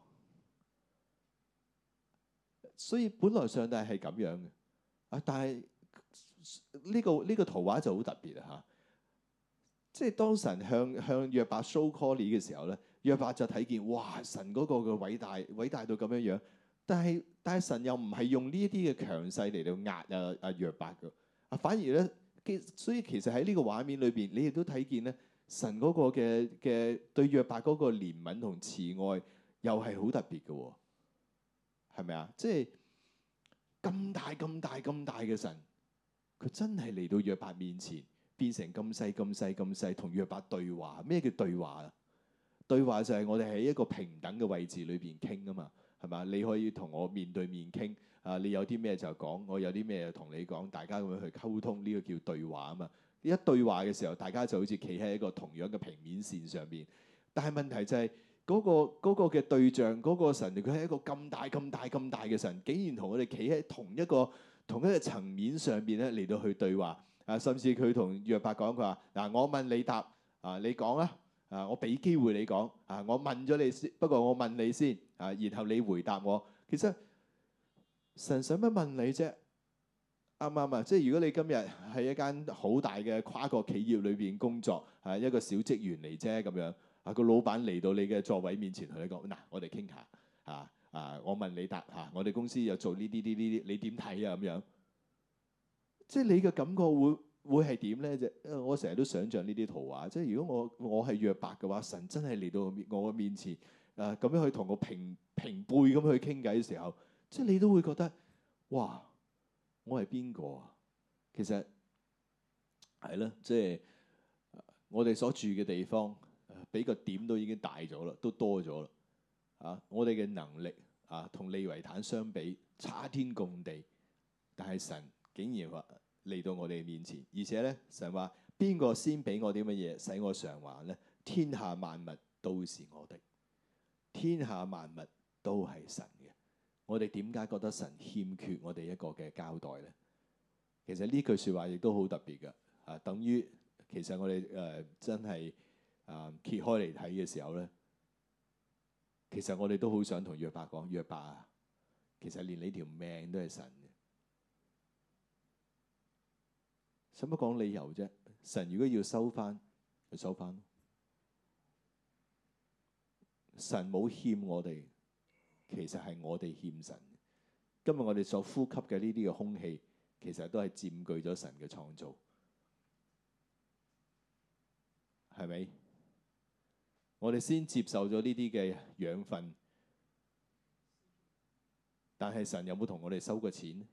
所以本來上帝係咁樣嘅啊，但係呢個呢個圖畫就好特別啊嚇！即係當神向向約伯 show call 嘅時候咧，約伯就睇見哇，神嗰個嘅偉大偉大到咁樣樣，但係但係神又唔係用呢一啲嘅強勢嚟到壓啊啊約伯嘅啊，反而咧，所以其實喺呢個畫面裏邊，你亦都睇見咧。神嗰個嘅嘅對約伯嗰個憐憫同慈愛又係好特別嘅喎，係咪啊？即係咁大咁大咁大嘅神，佢真係嚟到約伯面前，變成咁細咁細咁細，同約伯對話。咩叫對話啊？對話就係我哋喺一個平等嘅位置裏邊傾啊嘛，係嘛？你可以同我面對面傾啊，你有啲咩就講，我有啲咩就同你講，大家咁樣去溝通，呢個叫對話啊嘛。一對話嘅時候，大家就好似企喺一個同樣嘅平面線上邊。但係問題就係嗰個嗰個嘅對象，嗰個神，佢係一個咁大咁大咁大嘅神，竟然同我哋企喺同一個同一個層面上邊咧嚟到去對話啊！甚至佢同約伯講，佢話嗱，我問你答啊，你講啊啊，我俾機會你講啊，我問咗你先，不過我問你先啊，然後你回答我。其實神使乜問你啫？啱唔啱啊？即係如果你今日喺一間好大嘅跨國企業裏邊工作，係一個小職員嚟啫咁樣，啊個老闆嚟到你嘅座位面前同你講：嗱，我哋傾下啊啊，我問你答嚇，我哋公司又做呢啲呢啲，你點睇啊？咁樣，即係你嘅感覺會會係點咧？啫，我成日都想像呢啲圖畫，即係如果我我係約伯嘅話，神真係嚟到我嘅面前，誒咁樣去同我平平輩咁去傾偈嘅時候，即係你都會覺得哇！我係邊個啊？其實係咯，即係我哋所住嘅地方，比個點都已經大咗啦，都多咗啦。啊，我哋嘅能力啊，同利維坦相比差天共地，但係神竟然話嚟到我哋面前，而且咧神話邊個先俾我啲乜嘢使我償還咧？天下萬物都是我的，天下萬物都係神嘅。我哋點解覺得神欠缺我哋一個嘅交代咧？其實呢句説話亦都好特別嘅，啊，等於其實我哋誒、呃、真係啊、呃、揭開嚟睇嘅時候咧，其實我哋都好想同約伯講：約伯啊，其實連你條命都係神嘅，使乜講理由啫？神如果要收翻，就收翻。神冇欠我哋。其實係我哋欠神。今日我哋所呼吸嘅呢啲嘅空氣，其實都係佔據咗神嘅創造，係咪？我哋先接受咗呢啲嘅養分，但係神有冇同我哋收過錢？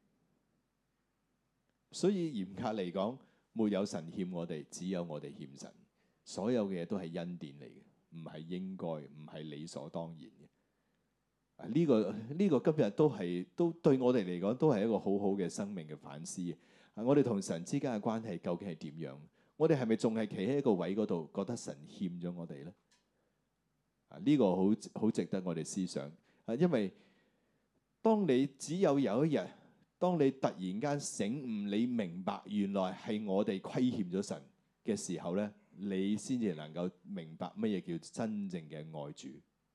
所以嚴格嚟講，沒有神欠我哋，只有我哋欠神。所有嘅嘢都係恩典嚟嘅。 唔係應該，唔係理所當然嘅。啊，呢個呢個今日都係都對我哋嚟講都係一個好好嘅生命嘅反思。啊，我哋同神之間嘅關係究竟係點樣？我哋係咪仲係企喺一個位嗰度，覺得神欠咗我哋咧？啊，呢個好好值得我哋思想。啊，因為當你只有有一日，當你突然間醒悟，你明白原來係我哋虧欠咗神嘅時候咧，你先至能夠明白乜嘢叫真正嘅愛主。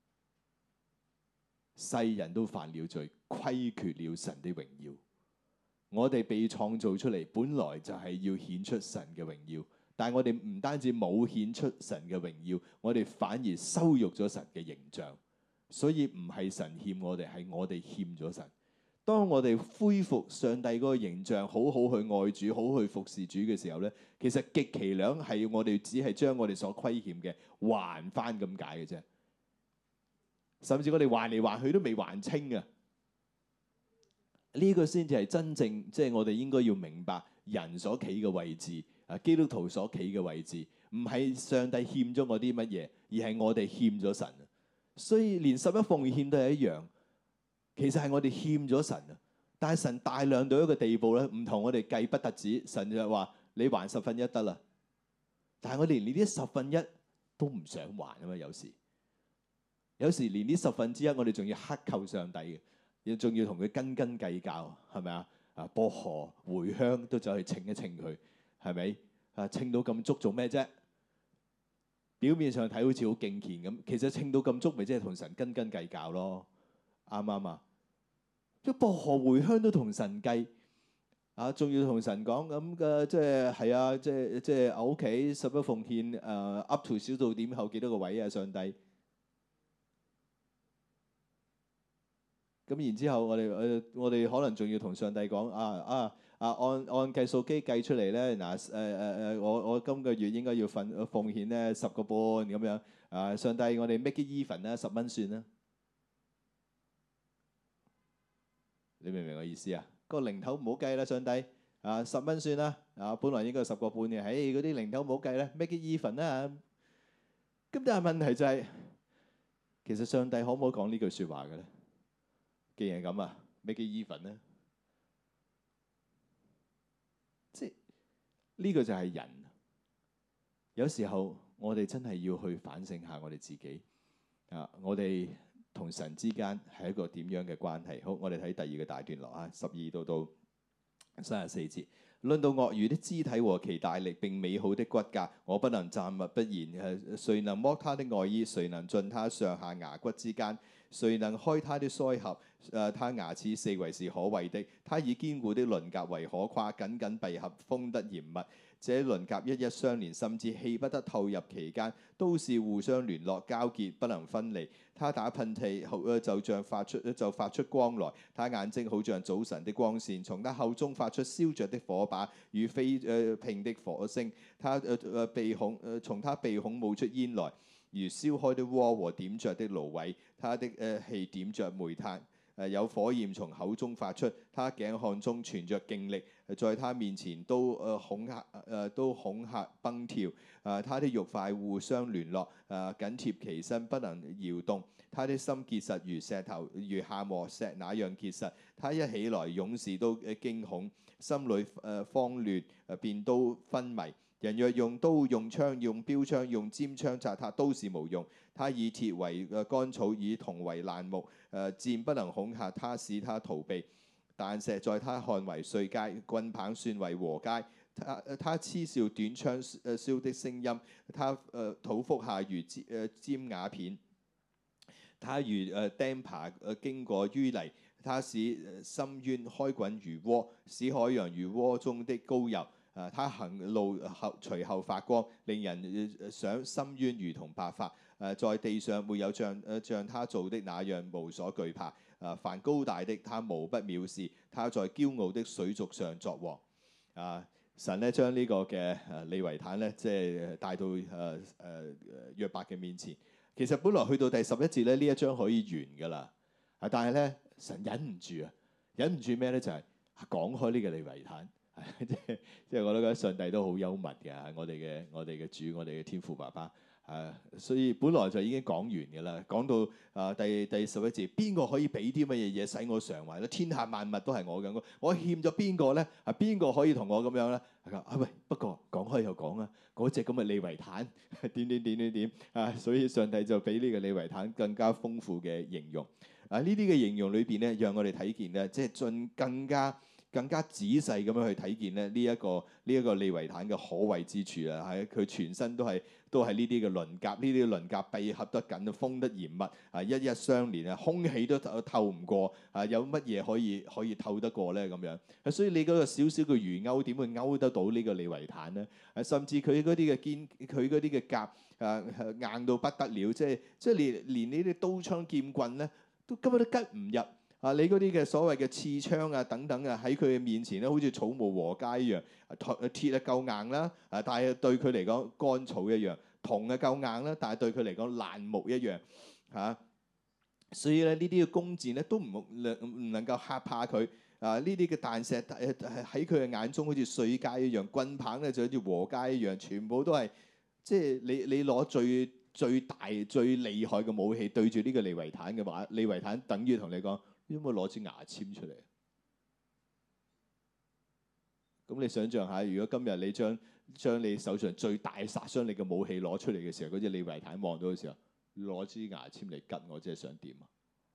世人都犯了罪，虧缺了神的榮耀。我哋被創造出嚟，本來就係要顯出神嘅榮耀。但係我哋唔單止冇顯出神嘅榮耀，我哋反而羞辱咗神嘅形象。所以唔係神欠我哋，係我哋欠咗神。當我哋恢復上帝嗰個形象，好好去愛主，好好去服侍主嘅時候咧，其實極其量係我哋只係將我哋所虧欠嘅還翻咁解嘅啫。甚至我哋還嚟還去都未還清啊！呢個先至係真正，即係我哋應該要明白人所企嘅位置啊，基督徒所企嘅位置，唔係上帝欠咗我啲乜嘢，而係我哋欠咗神。所以連十一奉獻都係一樣，其實係我哋欠咗神啊！但係神大量到一個地步咧，唔同我哋計不特止，神就話你還十分一得啦。但係我哋連呢啲十分一都唔想還啊嘛，有時。有時連呢十分之一，我哋仲要克扣上帝嘅，亦仲要同佢斤斤計較，係咪啊？啊，薄荷、茴香都走去稱一稱佢，係咪？啊，稱到咁足做咩啫？表面上睇好似好敬虔咁，其實稱到咁足，咪即係同神斤斤計較咯？啱唔啱啊？即薄荷、茴香都同神計，啊，仲要同神講咁嘅，即係係啊，即係即係我屋企十一奉獻，誒、uh, up to 小數點後幾多個位啊？上帝。咁然之後我，我哋誒我哋可能仲要同上帝講啊啊啊，按按計數機計出嚟咧，嗱誒誒誒，我我今個月應該要份奉獻咧十個半咁樣啊，上帝我哋 make it even 啦，十蚊算啦，你明唔明我意思啊？個零頭唔好計啦，上帝啊，十蚊算啦啊，本來應該十個半嘅，唉嗰啲零頭唔好計啦 make it even 啦。咁但係問題就係、是，其實上帝可唔可以講呢句説話嘅咧？既然係咁啊，make it even咧，即係呢個就係人。有時候我哋真係要去反省下我哋自己啊！我哋同神之間係一個點樣嘅關係？好，我哋睇第二個大段落啊，十二到到三十四節。論到鱷魚的肢體和其大力並美好的骨骼，我不能站立不言。誒，誰能剝他的外衣？誰能進他上下牙骨之間？誰能開他的腮合？誒，他牙齒四圍是可畏的。他以堅固的鱗甲為可誇，緊緊閉合，封得嚴密。這鱗甲一一相連，甚至氣不得透入其間，都是互相聯絡交結，不能分離。他打噴嚏，就像發出就發出光來。他眼睛好像早晨的光線，從他口中發出燒着的火把與飛誒迸的火星。他誒誒鼻孔誒從他鼻孔冒出煙來，如燒開的鍋和點着的蘆葦。他的誒氣點着煤炭。誒有火焰從口中發出，他頸項中存着勁力，在他面前都誒恐嚇誒都恐嚇崩跳。誒他的肉塊互相聯絡，誒緊貼其身不能搖動。他的心結實如石頭，如夏磨石那樣結實。他一起來，勇士都驚恐，心裡誒慌亂，誒便都昏迷。人若用刀、用槍、用標槍、用尖槍扎他，都是無用。他以鐵為乾草，以銅為爛木。誒箭不能恐嚇他，使他逃避。彈石在他看為碎階，棍棒算為禾秸。他他嗤笑短槍誒燒的聲音。他誒肚腹下如尖誒尖瓦片。他如誒釘耙誒經過淤泥。他使深淵開滾如鍋，使海洋如鍋中的膏油。啊！他行路後隨後發光，令人想深淵如同白髮。誒，在地上沒有像誒像他做的那樣無所懼怕。啊！凡高大的，他無不藐視。他在驕傲的水族上作王。啊！神咧將呢個嘅誒利維坦咧，即係帶到誒誒誒約伯嘅面前。其實本來去到第十一節咧，呢一章可以完㗎啦。啊！但係咧，神忍唔住啊，忍唔住咩咧？就係、是、講開呢個利維坦。即係即係，我都覺得上帝都好幽默嘅。我哋嘅我哋嘅主，我哋嘅天父爸爸啊，所以本來就已經講完嘅啦。講到啊第第十一節，邊個可以俾啲乜嘢嘢使我償還咧？天下萬物都係我嘅，我欠咗邊個咧？啊，邊個可以同我咁樣咧？啊喂，不過講開又講啊，嗰隻咁嘅利維坦點點點點點啊，所以上帝就俾呢個利維坦更加豐富嘅形容。啊，呢啲嘅形容裏邊咧，讓我哋睇見咧，即係盡更加。更加仔細咁樣去睇見咧呢一個呢一個利維坦嘅可畏之處啊！喺佢全身都係都係呢啲嘅鱗甲，呢啲鱗甲閉合得緊，封得嚴密啊，一一相連啊，空氣都透唔過啊！有乜嘢可以可以透得過咧？咁樣，所以你嗰個小小嘅魚鈎點會勾得到呢個利維坦咧？啊，甚至佢嗰啲嘅堅，佢嗰啲嘅甲啊硬到不得了，即係即係連連呢啲刀槍劍棍咧，都根本都吉唔入。啊！你嗰啲嘅所謂嘅刺槍啊等等啊，喺佢嘅面前咧，好似草木禾秸一樣。鐵啊夠硬啦，啊但係對佢嚟講乾草一樣；銅啊夠硬啦，但係對佢嚟講爛木一樣。嚇、啊！所以咧呢啲嘅弓箭咧都唔唔能夠嚇怕佢。啊！呢啲嘅彈石喺佢嘅眼中好似碎秸一樣，棍棒咧就好似禾秸一樣，全部都係即係你你攞最最大最厲害嘅武器對住呢個利維坦嘅話，利維坦等於同你講。有冇攞支牙籤出嚟？咁你想象下，如果今日你將將你手上最大殺傷力嘅武器攞出嚟嘅時候，嗰隻利維坦望到嘅時候，攞支牙籤嚟吉我，即係想點啊？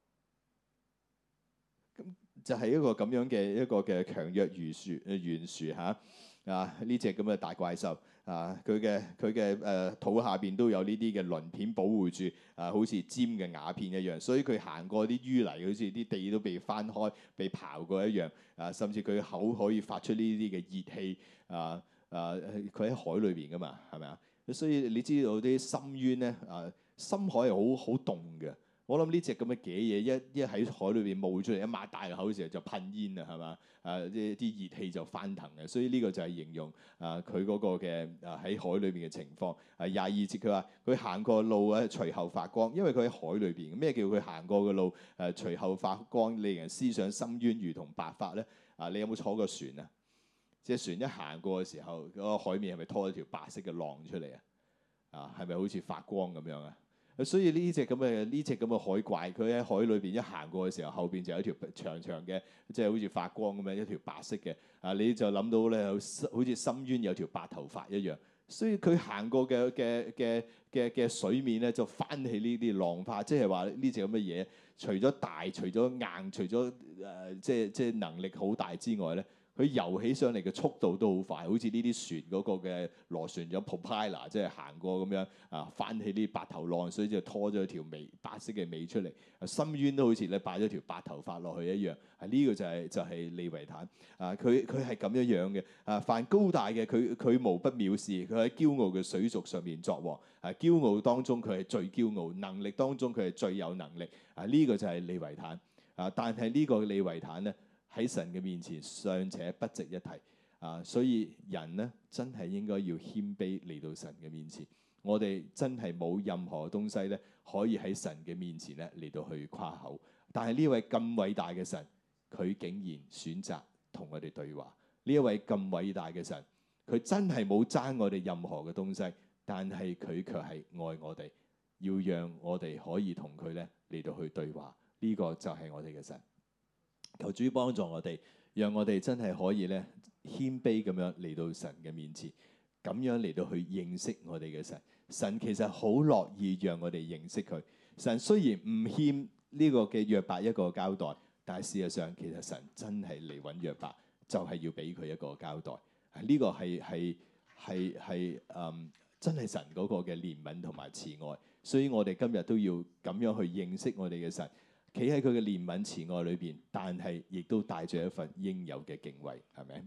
咁就係一個咁樣嘅一個嘅強弱懸殊誒懸殊嚇啊！呢隻咁嘅大怪獸。啊！佢嘅佢嘅誒肚下邊都有呢啲嘅鱗片保護住，啊，好似尖嘅瓦片一樣。所以佢行過啲淤泥，好似啲地都被翻開、被刨過一樣。啊，甚至佢口可以發出呢啲嘅熱氣。啊啊！佢喺海裏邊噶嘛，係咪啊？所以你知道啲深淵咧，啊，深海係好好凍嘅。我諗呢隻咁嘅嘅嘢，一一喺海裏邊冒出嚟，一擘大口嘅時候就噴煙啊，係嘛？啊，啲啲熱氣就翻騰嘅，所以呢個就係形容啊佢嗰個嘅啊喺海裏邊嘅情況。啊廿二節佢話佢行過路啊，隨後發光，因為佢喺海裏邊。咩叫佢行過嘅路誒隨後發光，令人思想深淵如同白髮咧？啊，你有冇坐過船啊？即係船一行過嘅時候，嗰個海面係咪拖一條白色嘅浪出嚟啊？啊，係咪好似發光咁樣啊？所以呢隻咁嘅呢隻咁嘅海怪，佢喺海裏邊一行過嘅時候，後邊就有一條長長嘅，即係好似發光咁樣一條白色嘅。啊，你就諗到咧，好似深淵有條白頭髮一樣。所以佢行過嘅嘅嘅嘅嘅水面咧，就翻起呢啲浪花，即係話呢隻咁嘅嘢，除咗大，除咗硬，除咗誒、呃、即係即係能力好大之外咧。佢游起上嚟嘅速度都好快，好似呢啲船嗰個嘅螺旋槳 propeller，即係行過咁樣啊，翻起呢啲白頭浪，所以就拖咗條尾白色嘅尾出嚟。深淵都好似咧擺咗條白頭髮落去一樣。係、這、呢個就係、是、就係、是、利維坦啊！佢佢係咁樣樣嘅啊，凡高大嘅佢佢無不藐視，佢喺驕傲嘅水族上面作王。啊，驕傲當中佢係最驕傲，能力當中佢係最有能力。啊，呢、這個就係利維坦啊！但係呢個利維坦咧，喺神嘅面前尚且不值一提啊！所以人呢，真係應該要謙卑嚟到神嘅面前。我哋真係冇任何東西咧可以喺神嘅面前咧嚟到去誇口。但係呢位咁偉大嘅神，佢竟然選擇同我哋對話。呢一位咁偉大嘅神，佢真係冇爭我哋任何嘅東西，但係佢卻係愛我哋，要讓我哋可以同佢咧嚟到去對話。呢、這個就係我哋嘅神。求主幫助我哋，讓我哋真係可以咧謙卑咁樣嚟到神嘅面前，咁樣嚟到去認識我哋嘅神。神其實好樂意讓我哋認識佢。神雖然唔欠呢個嘅約伯一個交代，但係事實上其實神真係嚟揾約伯，就係要俾佢一個交代。呢、這個係係係係誒，真係神嗰個嘅憐憫同埋慈愛。所以我哋今日都要咁樣去認識我哋嘅神。企喺佢嘅憐憫慈愛裏邊，但係亦都帶住一份應有嘅敬畏，係咪？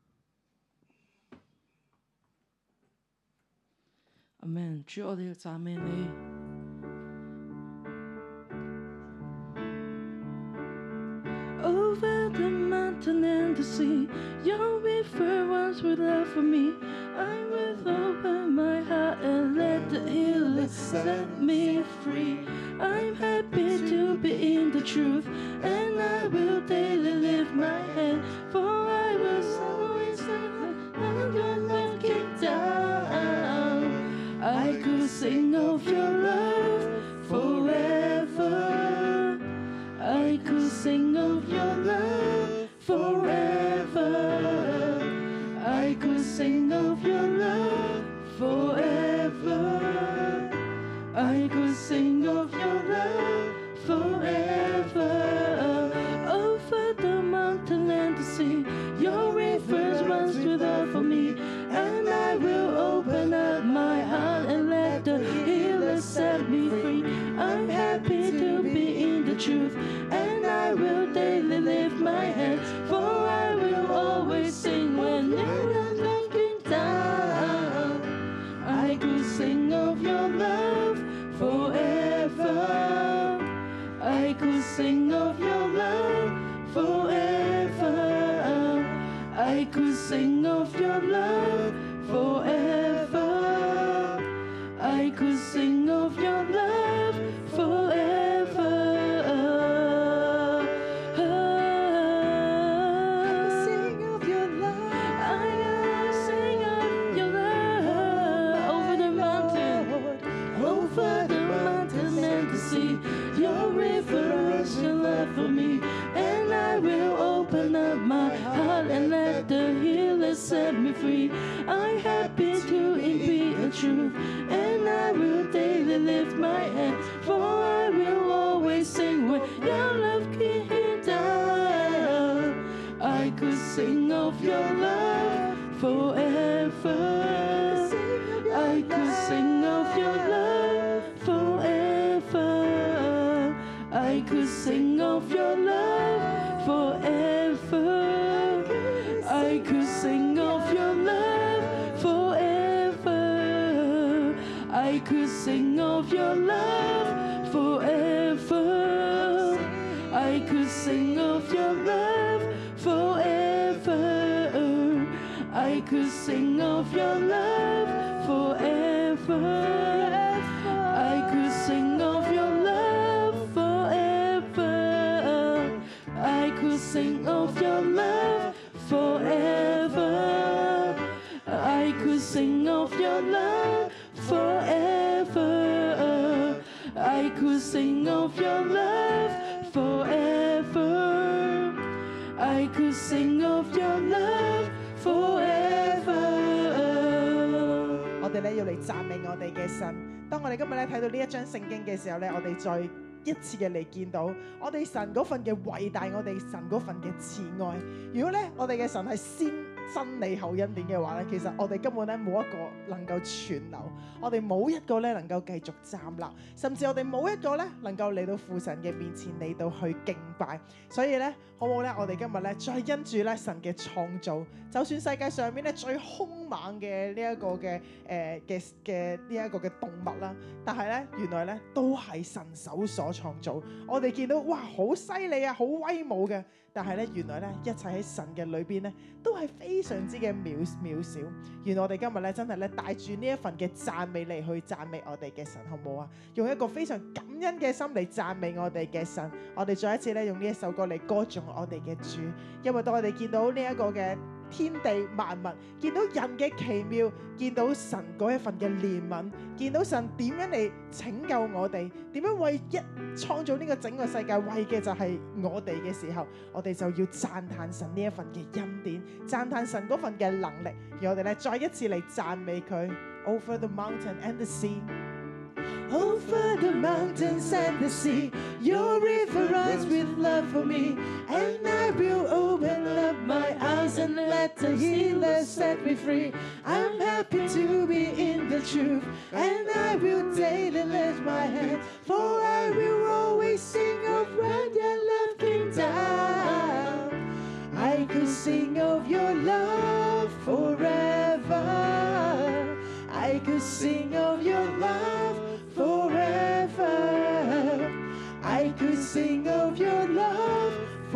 阿們，主我哋要讚美你。Over the mountain and the sea, your river runs with love for me. I will open my heart and let the healer set me free. I'm happy to be in the truth, and I will daily lift my hand, for I was always when your love came down. I could sing of your love forever. I could sing of your love forever. I could sing of your love forever. Over the mountain and the sea, your rivers runs with love for me. And I will open up my heart and let the healer set me free. I'm happy to be in the truth, and I will daily lift my hands, for I will always sing when you're looking down. I could sing of your love forever. I could sing of your love forever. I could sing of your love forever. I could sing of your love forever. Sing of your love. I will sing of your love over the mountain, over the mountain and the sea. Your river runs your love for me, and I will open up my heart and let the healer set me free. I'm happy to be a truth, and I will daily lift my hands, for I will always sing when your love came down. I could sing of your love forever. I could sing of your love forever. I could sing of your love forever. I could sing of your love forever. I could sing of your love forever. I could sing of your love forever. I could sing of your love forever. I could sing of your love forever. I could sing of your love forever. I could sing of your love forever. I could sing of your love forever. I could sing of your love forever. 我哋咧要嚟讚美我哋嘅神。當我哋今日咧睇到呢一章聖經嘅時候咧，我哋再一次嘅嚟見到我哋神嗰份嘅偉大，我哋神嗰份嘅慈愛。如果咧我哋嘅神係先真理後恩典嘅話咧，其實我哋根本咧冇一個能夠存留，我哋冇一個咧能夠繼續站立，甚至我哋冇一個咧能夠嚟到父神嘅面前嚟到去敬拜。所以咧，好唔好咧？我哋今日咧再因住咧神嘅創造，就算世界上面咧最兇猛嘅呢一個嘅誒嘅嘅呢一個嘅動物啦，但係咧原來咧都係神手所創造。我哋見到哇，好犀利啊，好威武嘅。但係咧，原來咧一切喺神嘅裏邊咧，都係非常之嘅渺渺小。原來我哋今日咧真係咧帶住呢一份嘅讚美嚟去讚美我哋嘅神，好唔好啊？用一個非常感恩嘅心嚟讚美我哋嘅神。我哋再一次咧用呢一首歌嚟歌頌我哋嘅主，因為當我哋見到呢一個嘅天地萬物，見到人嘅奇妙，見到神嗰一份嘅憐憫，見到神點樣嚟拯救我哋，點樣為一創造呢個整個世界為嘅就係我哋嘅時候，我哋就要讚嘆神呢一份嘅恩典，讚嘆神嗰份嘅能力，而我哋咧再一次嚟讚美佢。Over the mountain and the sea, over the mountains and the sea, your river runs with love for me, and I will open up my eyes and let the healer set me free. I'm happy to be in the truth, and I will daily lift my hands, for I will always sing of when your love came down. I could sing of your love forever. I could sing of your love forever. I could sing of your love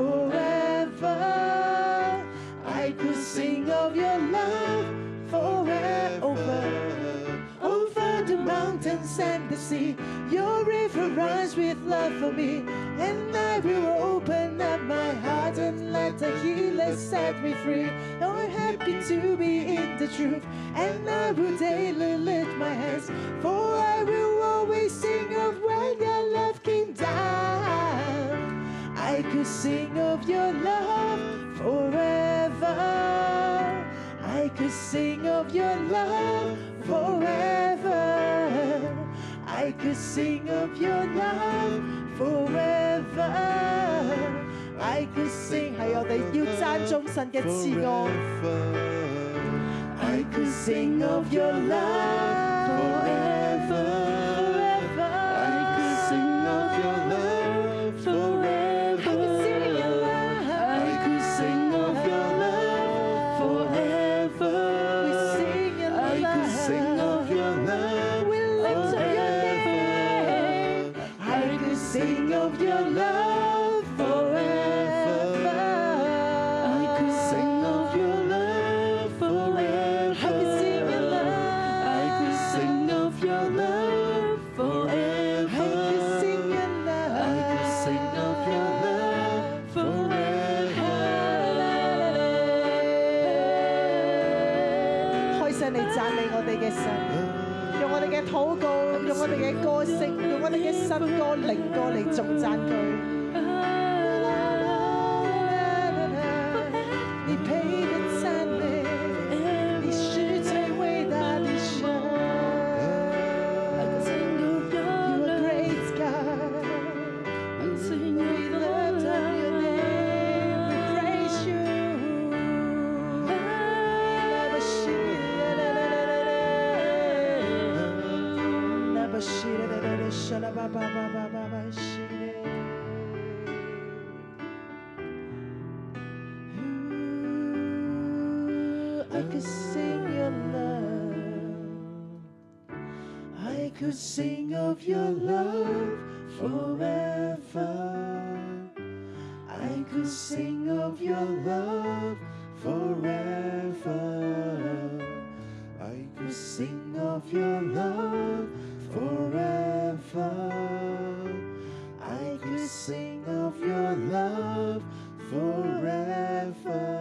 forever. I could sing of your love forever. Over the mountains and the sea, your river runs with love for me, and I will open up my heart and let the healer set me free. Now I'm happy to be in the truth, and I will daily lift my hands, for I will always sing of when your love came down. I could could sing of your love forever. I could sing of your love forever. I could sing of your love forever. I could sing 係我哋要讚頌神嘅慈愛。I could sing of your love forever. I could sing of your love forever. I could sing of your love forever. I could sing of your love forever. I could sing of your love forever. I could sing of your love forever. I could sing your love. I could sing of your love forever. I could sing your love. I could sing of your love forever. 開聲你讚美我哋嘅神，用我哋嘅禱告，用我哋嘅歌聲，用我哋嘅新歌、靈歌嚟頌讚佢。你配得讚美，你是最偉大的神。You are great God. We lift up your name. We praise you. I could sing your love. I could sing of your love forever. I could sing of your love forever. I could sing of your love forever. I could sing of your love forever.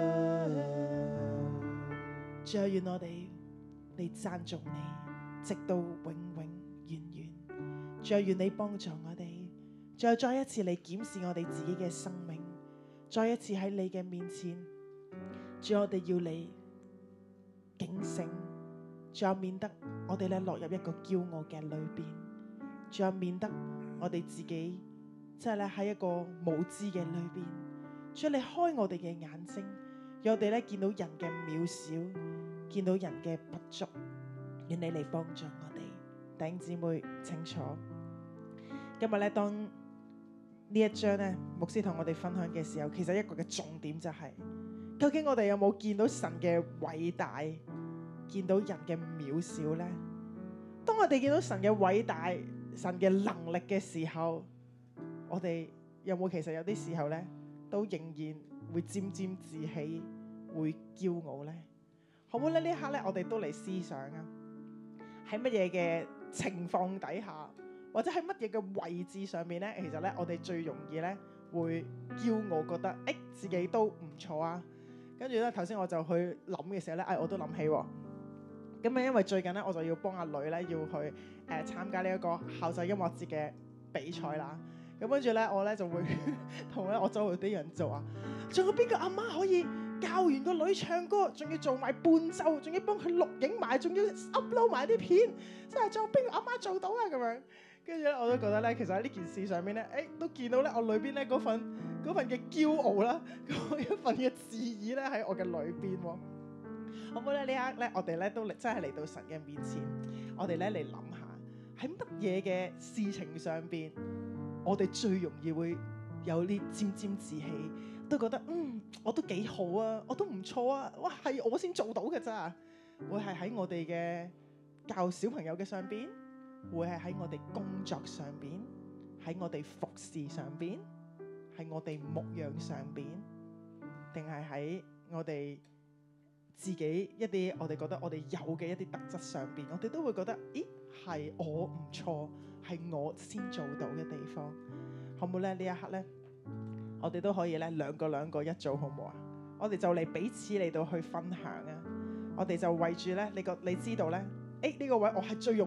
主啊，願我哋嚟讚頌你，直到永永遠遠。主啊，願你幫助我哋，主啊，再一次嚟檢視我哋自己嘅生命，再一次喺你嘅面前，主啊，我哋要你警醒，主啊，免得我哋咧落入一個驕傲嘅裏邊，主啊，免得我哋自己即係咧喺一個無知嘅裏邊，主啊，你開我哋嘅眼睛，讓我哋咧見到人嘅渺小，見到人嘅不足，願你嚟幫助我哋。弟兄姊妹清楚，今日咧當呢一章咧牧師同我哋分享嘅時候，其實一個嘅重點就係、是，究竟我哋有冇見到神嘅偉大，見到人嘅渺小呢？當我哋見到神嘅偉大、神嘅能力嘅時候，我哋有冇其實有啲時候呢，都仍然會沾沾自喜，會驕傲呢？好唔好咧？呢一刻咧，我哋都嚟思想啊，喺乜嘢嘅情況底下，或者喺乜嘢嘅位置上面咧，其實咧，我哋最容易咧會驕傲，覺得誒自己都唔錯啊。跟住咧，頭先我就去諗嘅時候咧，誒我都諗起喎。咁啊，因為最近咧，我就要幫阿女咧要去誒、呃、參加呢一個校際音樂節嘅比賽啦。咁跟住咧，我咧就會同咧我周圍啲人做啊，仲有邊個阿媽可以教完個女唱歌，仲要做埋伴奏，仲要幫佢錄影埋，仲要 upload 埋啲片，真係仲有邊個阿媽做到啊？咁樣，跟住咧我都覺得咧，其實喺呢件事上面咧，誒都見到咧我裏邊咧嗰份嗰份嘅驕傲啦，嗰一份嘅自義咧喺我嘅裏邊喎。好唔好咧？呢一刻咧，我哋咧都真係嚟到神嘅面前，我哋咧嚟諗下喺乜嘢嘅事情上邊，我哋最容易會有啲沾沾自喜。都覺得嗯，我都幾好啊，我都唔錯啊，哇，係我先做到嘅咋？會係喺我哋嘅教小朋友嘅上邊，會係喺我哋工作上邊，喺我哋服侍上邊，喺我哋牧養上邊，定係喺我哋自己一啲我哋覺得我哋有嘅一啲特質上邊，我哋都會覺得，咦，係我唔錯，係我先做到嘅地方，好唔好咧？呢一刻咧？我哋都可以咧兩個兩個一組，好唔好啊？我哋就嚟彼此嚟到去分享啊！我哋就為住咧，你個你知道咧，誒呢個位我係最容易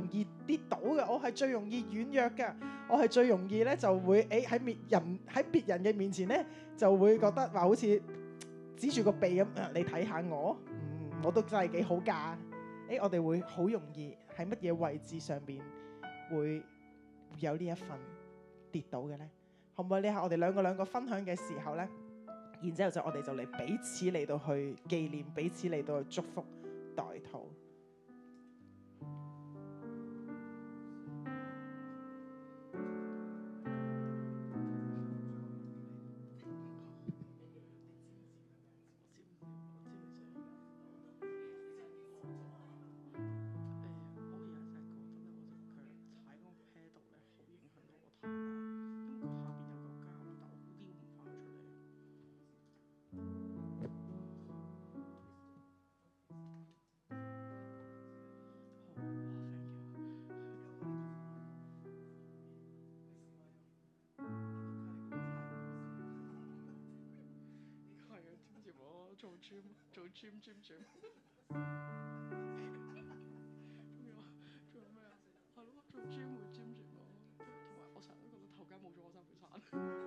跌倒嘅，我係最容易軟弱嘅，我係最容易咧就會誒喺面人喺別人嘅面前咧就會覺得話好似指住個鼻咁，你睇下我，嗯，我都真係幾好㗎。誒，我哋會好容易喺乜嘢位置上邊會有呢一份跌倒嘅咧？可唔可以呢下我哋兩個兩個分享嘅時候咧，然之後就我哋就嚟彼此嚟到去紀念，彼此嚟到去祝福代禱。 做 gym 做 gym gym gym，仲有仲有咩啊？係咯，做 gym 會 gym gym 咯，同埋我成日都覺得頭家冇咗我衫會散。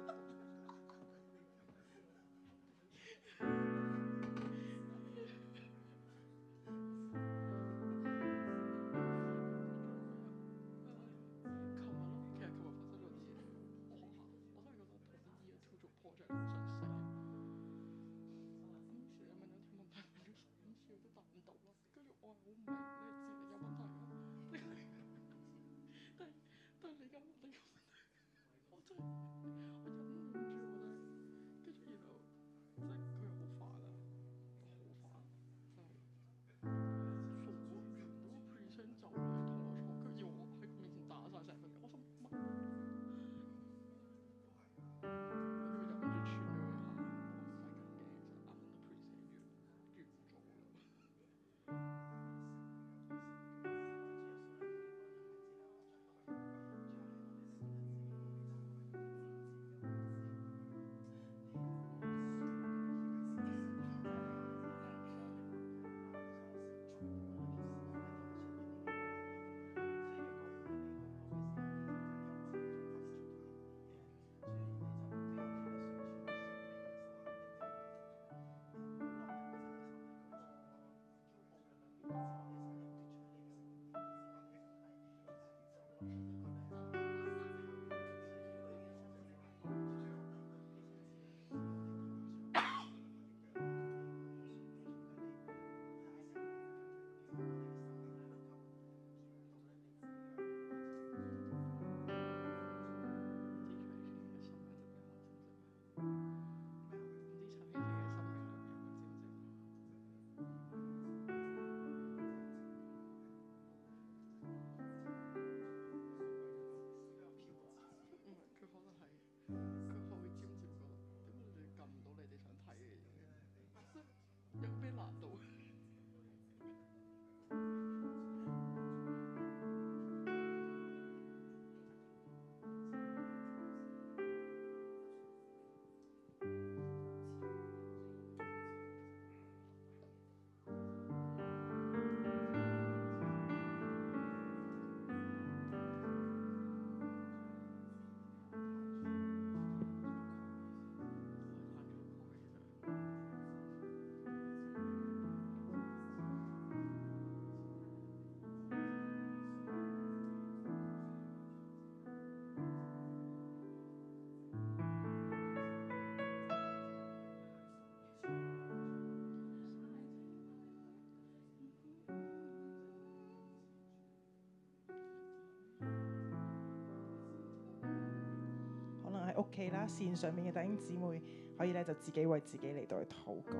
屋企啦，線上面嘅弟兄姊妹可以咧就自己為自己嚟到去禱告。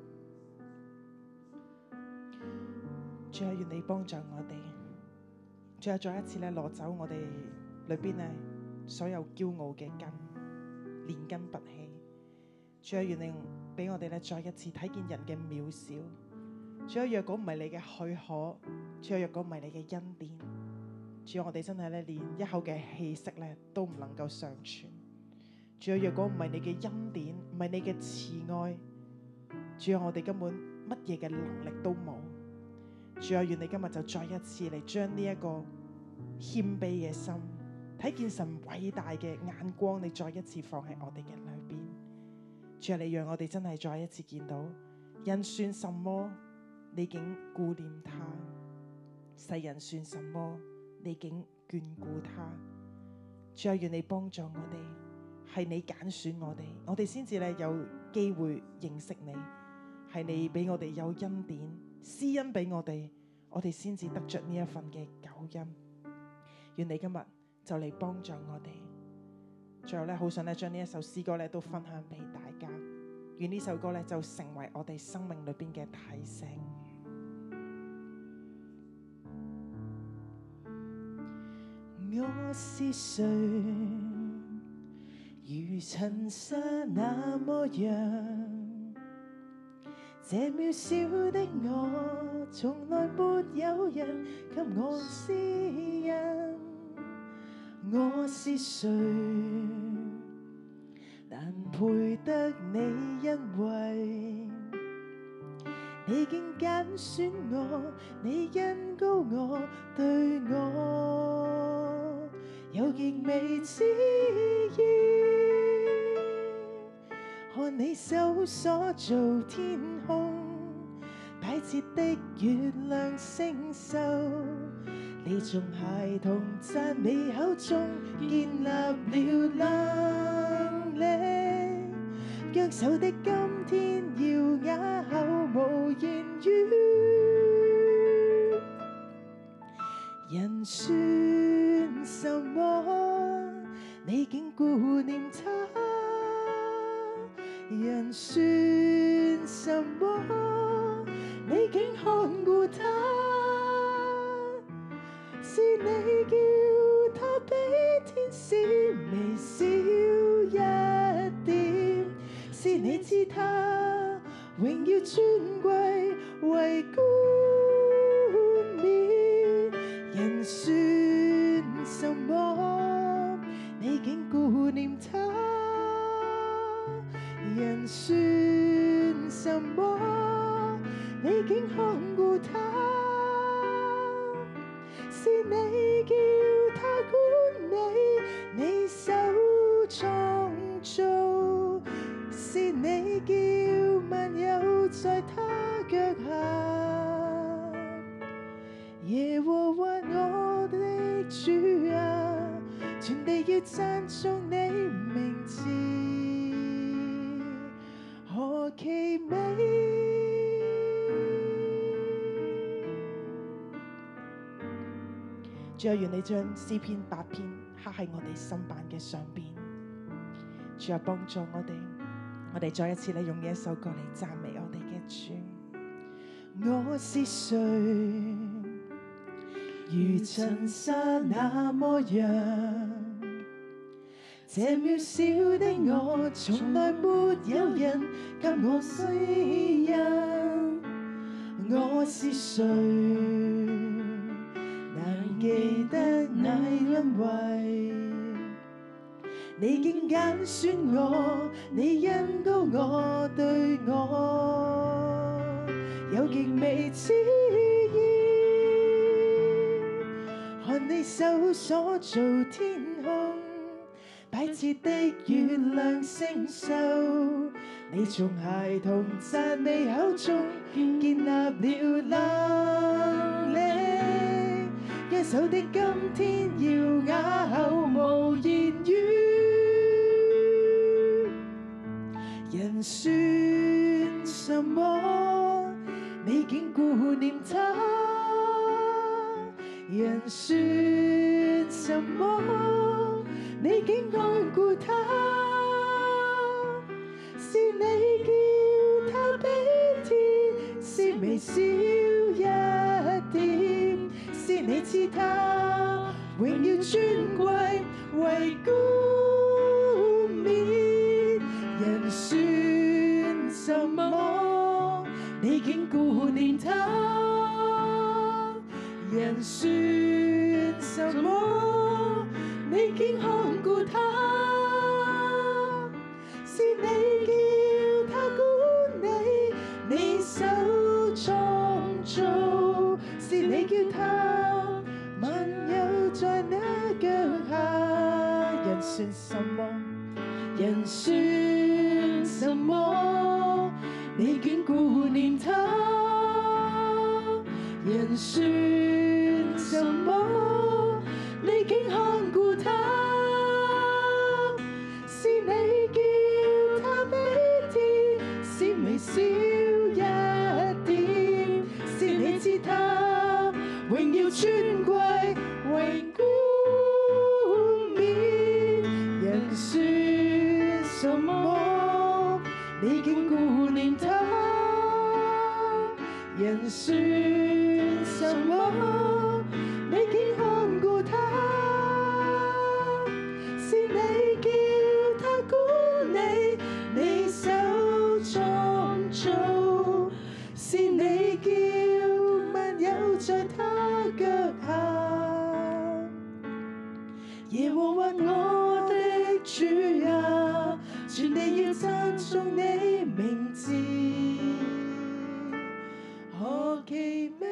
主啊，願你幫助我哋， 最後再一次咧攞走我哋裏邊咧所有驕傲嘅根，連根拔起。主啊，願你俾我哋咧再一次睇見人嘅渺小。主啊，若果唔係你嘅許可，主啊，若果唔係你嘅恩典，主啊，我哋真係咧連一口嘅氣息咧都唔能夠尚存。主啊，若果唔係你嘅恩典，唔係你嘅慈愛，主啊，我哋根本乜嘢嘅能力都冇。主啊，願你今日就再一次嚟將呢一個謙卑嘅心，睇見神偉大嘅眼光，你再一次放喺我哋嘅裏邊。主啊，你讓我哋真係再一次見到人算什麼，你竟顧念他；世人算什麼，你竟眷顧他。主啊，願你幫助我哋，係你揀選我哋，我哋先至咧有機會認識你，係你俾我哋有恩典，施恩俾我哋，我哋先至得着呢一份嘅救恩。願你今日就嚟幫助我哋。最後咧，好想咧將呢一首詩歌咧都分享俾大家。願呢首歌咧就成為我哋生命裏邊嘅提醒。我是誰？如塵沙那麼樣，這渺小的我，從來沒有人給我私隱。我是誰？難配得你恩惠，你竟揀選我，你恩膏我，對我有極美旨意。看你手所造天空，擺設的月亮星宿，你從孩童讚美口中建立了能力，約手的今天要啞口無言語。人算什麼？你竟顧念他。人算什麼？你竟看顧他。是你叫他比天使微小一點，是你知他榮耀尊貴為冠冕。人算什麼？你竟顧念他。人算什麼？你竟看顧他。是你叫他管理你手創造，是你叫萬有在他腳下。耶和華我的主啊，全地要讚頌你名字，何其美！主啊，願你將詩篇八篇刻喺我哋心版嘅上邊。主啊，幫助我哋，我哋再一次咧用呢一首歌嚟讚美我哋嘅主。我是誰？如塵沙那麼樣，這渺小的我，從來沒有人給我施恩。我是誰？難記得那恩惠，你竟揀選我，你恩膏我，對我有極美旨意。看你手所造天空，擺設的月亮星宿，你從孩童讚美口中建立了能力。約手的今天要啞口無言語。人算什麼？你竟顧念他。人算什麼？你竟看顧他。是你叫他比天使微小一點，是你似他，榮耀尊貴為冠冕，人算什麼？你竟顧念他，人算什麼？你竟看顧他，是你叫他管理，你手創造，是你叫他萬有在那腳下，人算什麼？人算什麼？你竟顧念他，人算什麼？你竟看顧他，是你叫他比天使微小一點，是你知他榮耀尊貴為冠冕，人算什麼？你竟顧念他，人算什麼？你竟看顧他，是你叫他管理，你手創造，是你叫萬有在他腳下。耶和華我的主啊，全地要讚頌你名字，何其美！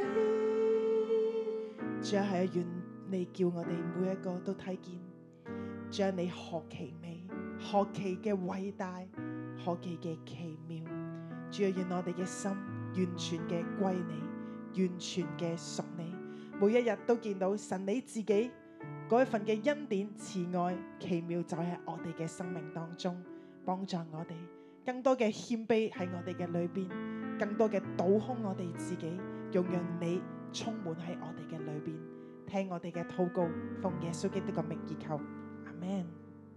主啊，係啊，願你叫我哋每一個都睇見，主啊，你何其美，何其嘅偉大，何其嘅奇妙。主啊，願我哋嘅心完全嘅歸你，完全嘅屬你，每一日都見到神你自己嗰一份嘅恩典、慈愛、奇妙，就喺我哋嘅生命當中幫助我哋，更多嘅謙卑喺我哋嘅裏邊，更多嘅倒空我哋自己，用讓你充滿喺我哋嘅裏邊，聽我哋嘅禱告，奉耶穌基督嘅名而求，阿們。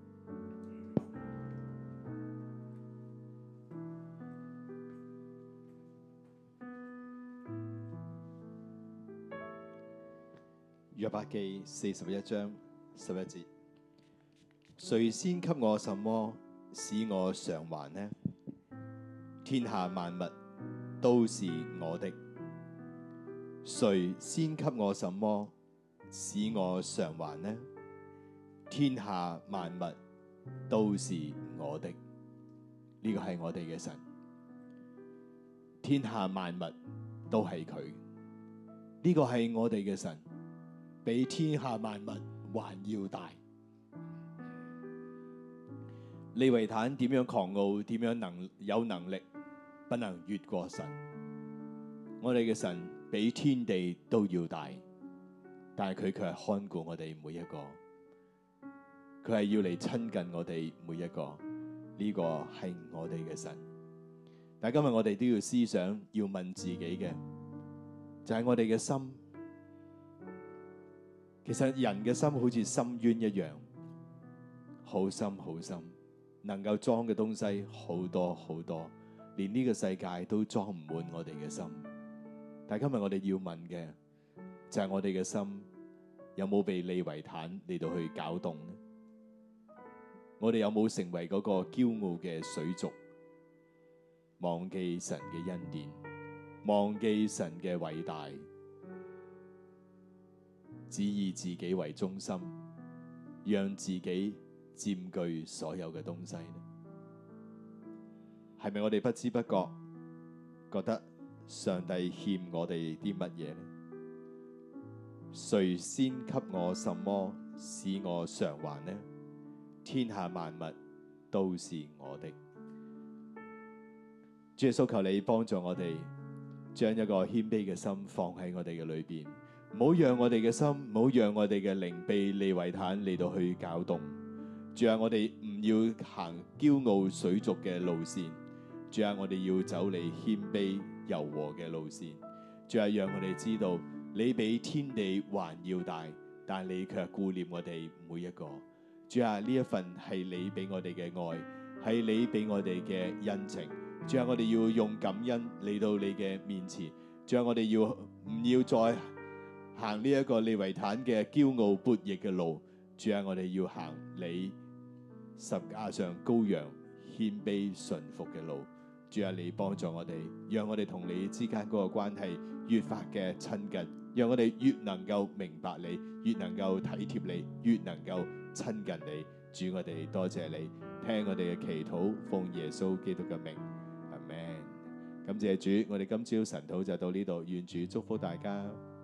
約伯記四十一章十一節，誰先給我什麼，使我償還呢？天下萬物都是我的，誰先給我什麼，使我償還呢？天下萬物都是我的，呢個係我哋嘅神。天下萬物都係佢，呢個係我哋嘅神。比天下萬物還要大。利維坦點樣狂傲，點樣能有能力，不能越過神。我哋嘅神比天地都要大，但係佢卻係看顧我哋每一個，佢係要嚟親近我哋每一個。呢個係我哋嘅神。但係今日我哋都要思想，要問自己嘅就係我哋嘅心。其實人嘅心好似深淵一樣，好深好深，能夠裝嘅東西好多好多，連呢個世界都裝唔滿我哋嘅心。但係今日我哋要問嘅就係我哋嘅心有冇被利維坦嚟到去攪動呢？我哋有冇成為嗰個驕傲嘅水族，忘記神嘅恩典，忘記神嘅偉大，只以自己為中心，讓自己佔據所有嘅東西呢？係咪我哋不知不覺覺得上帝欠我哋啲乜嘢呢？誰先給我什麼，使我償還呢？天下萬物都是我的。主耶穌，求你幫助我哋，將一個謙卑嘅心放喺我哋嘅裏邊。唔好讓我哋嘅心，唔好讓我哋嘅靈被利維坦嚟到去攪動。主啊，我哋唔要行驕傲水族嘅路線。主啊，我哋要走你謙卑柔和嘅路線。主啊，讓我哋知道你比天地還要大，但你卻顧念我哋每一個。主啊，呢一份係你俾我哋嘅愛，係你俾我哋嘅恩情。主啊，我哋要用感恩嚟到你嘅面前。主啊，我哋要唔要再行呢一個利維坦嘅驕傲悖逆嘅路。主啊，我哋要行你十架上羔羊謙卑順服嘅路。主啊，你幫助我哋，讓我哋同你之間嗰個關係越發嘅親近，讓我哋越能夠明白你，越能夠體貼你，越能夠親近你。主，我哋多謝你，聽我哋嘅祈禱，奉耶穌基督嘅名，阿們。感謝主，我哋今朝晨禱就到呢度，願主祝福大家。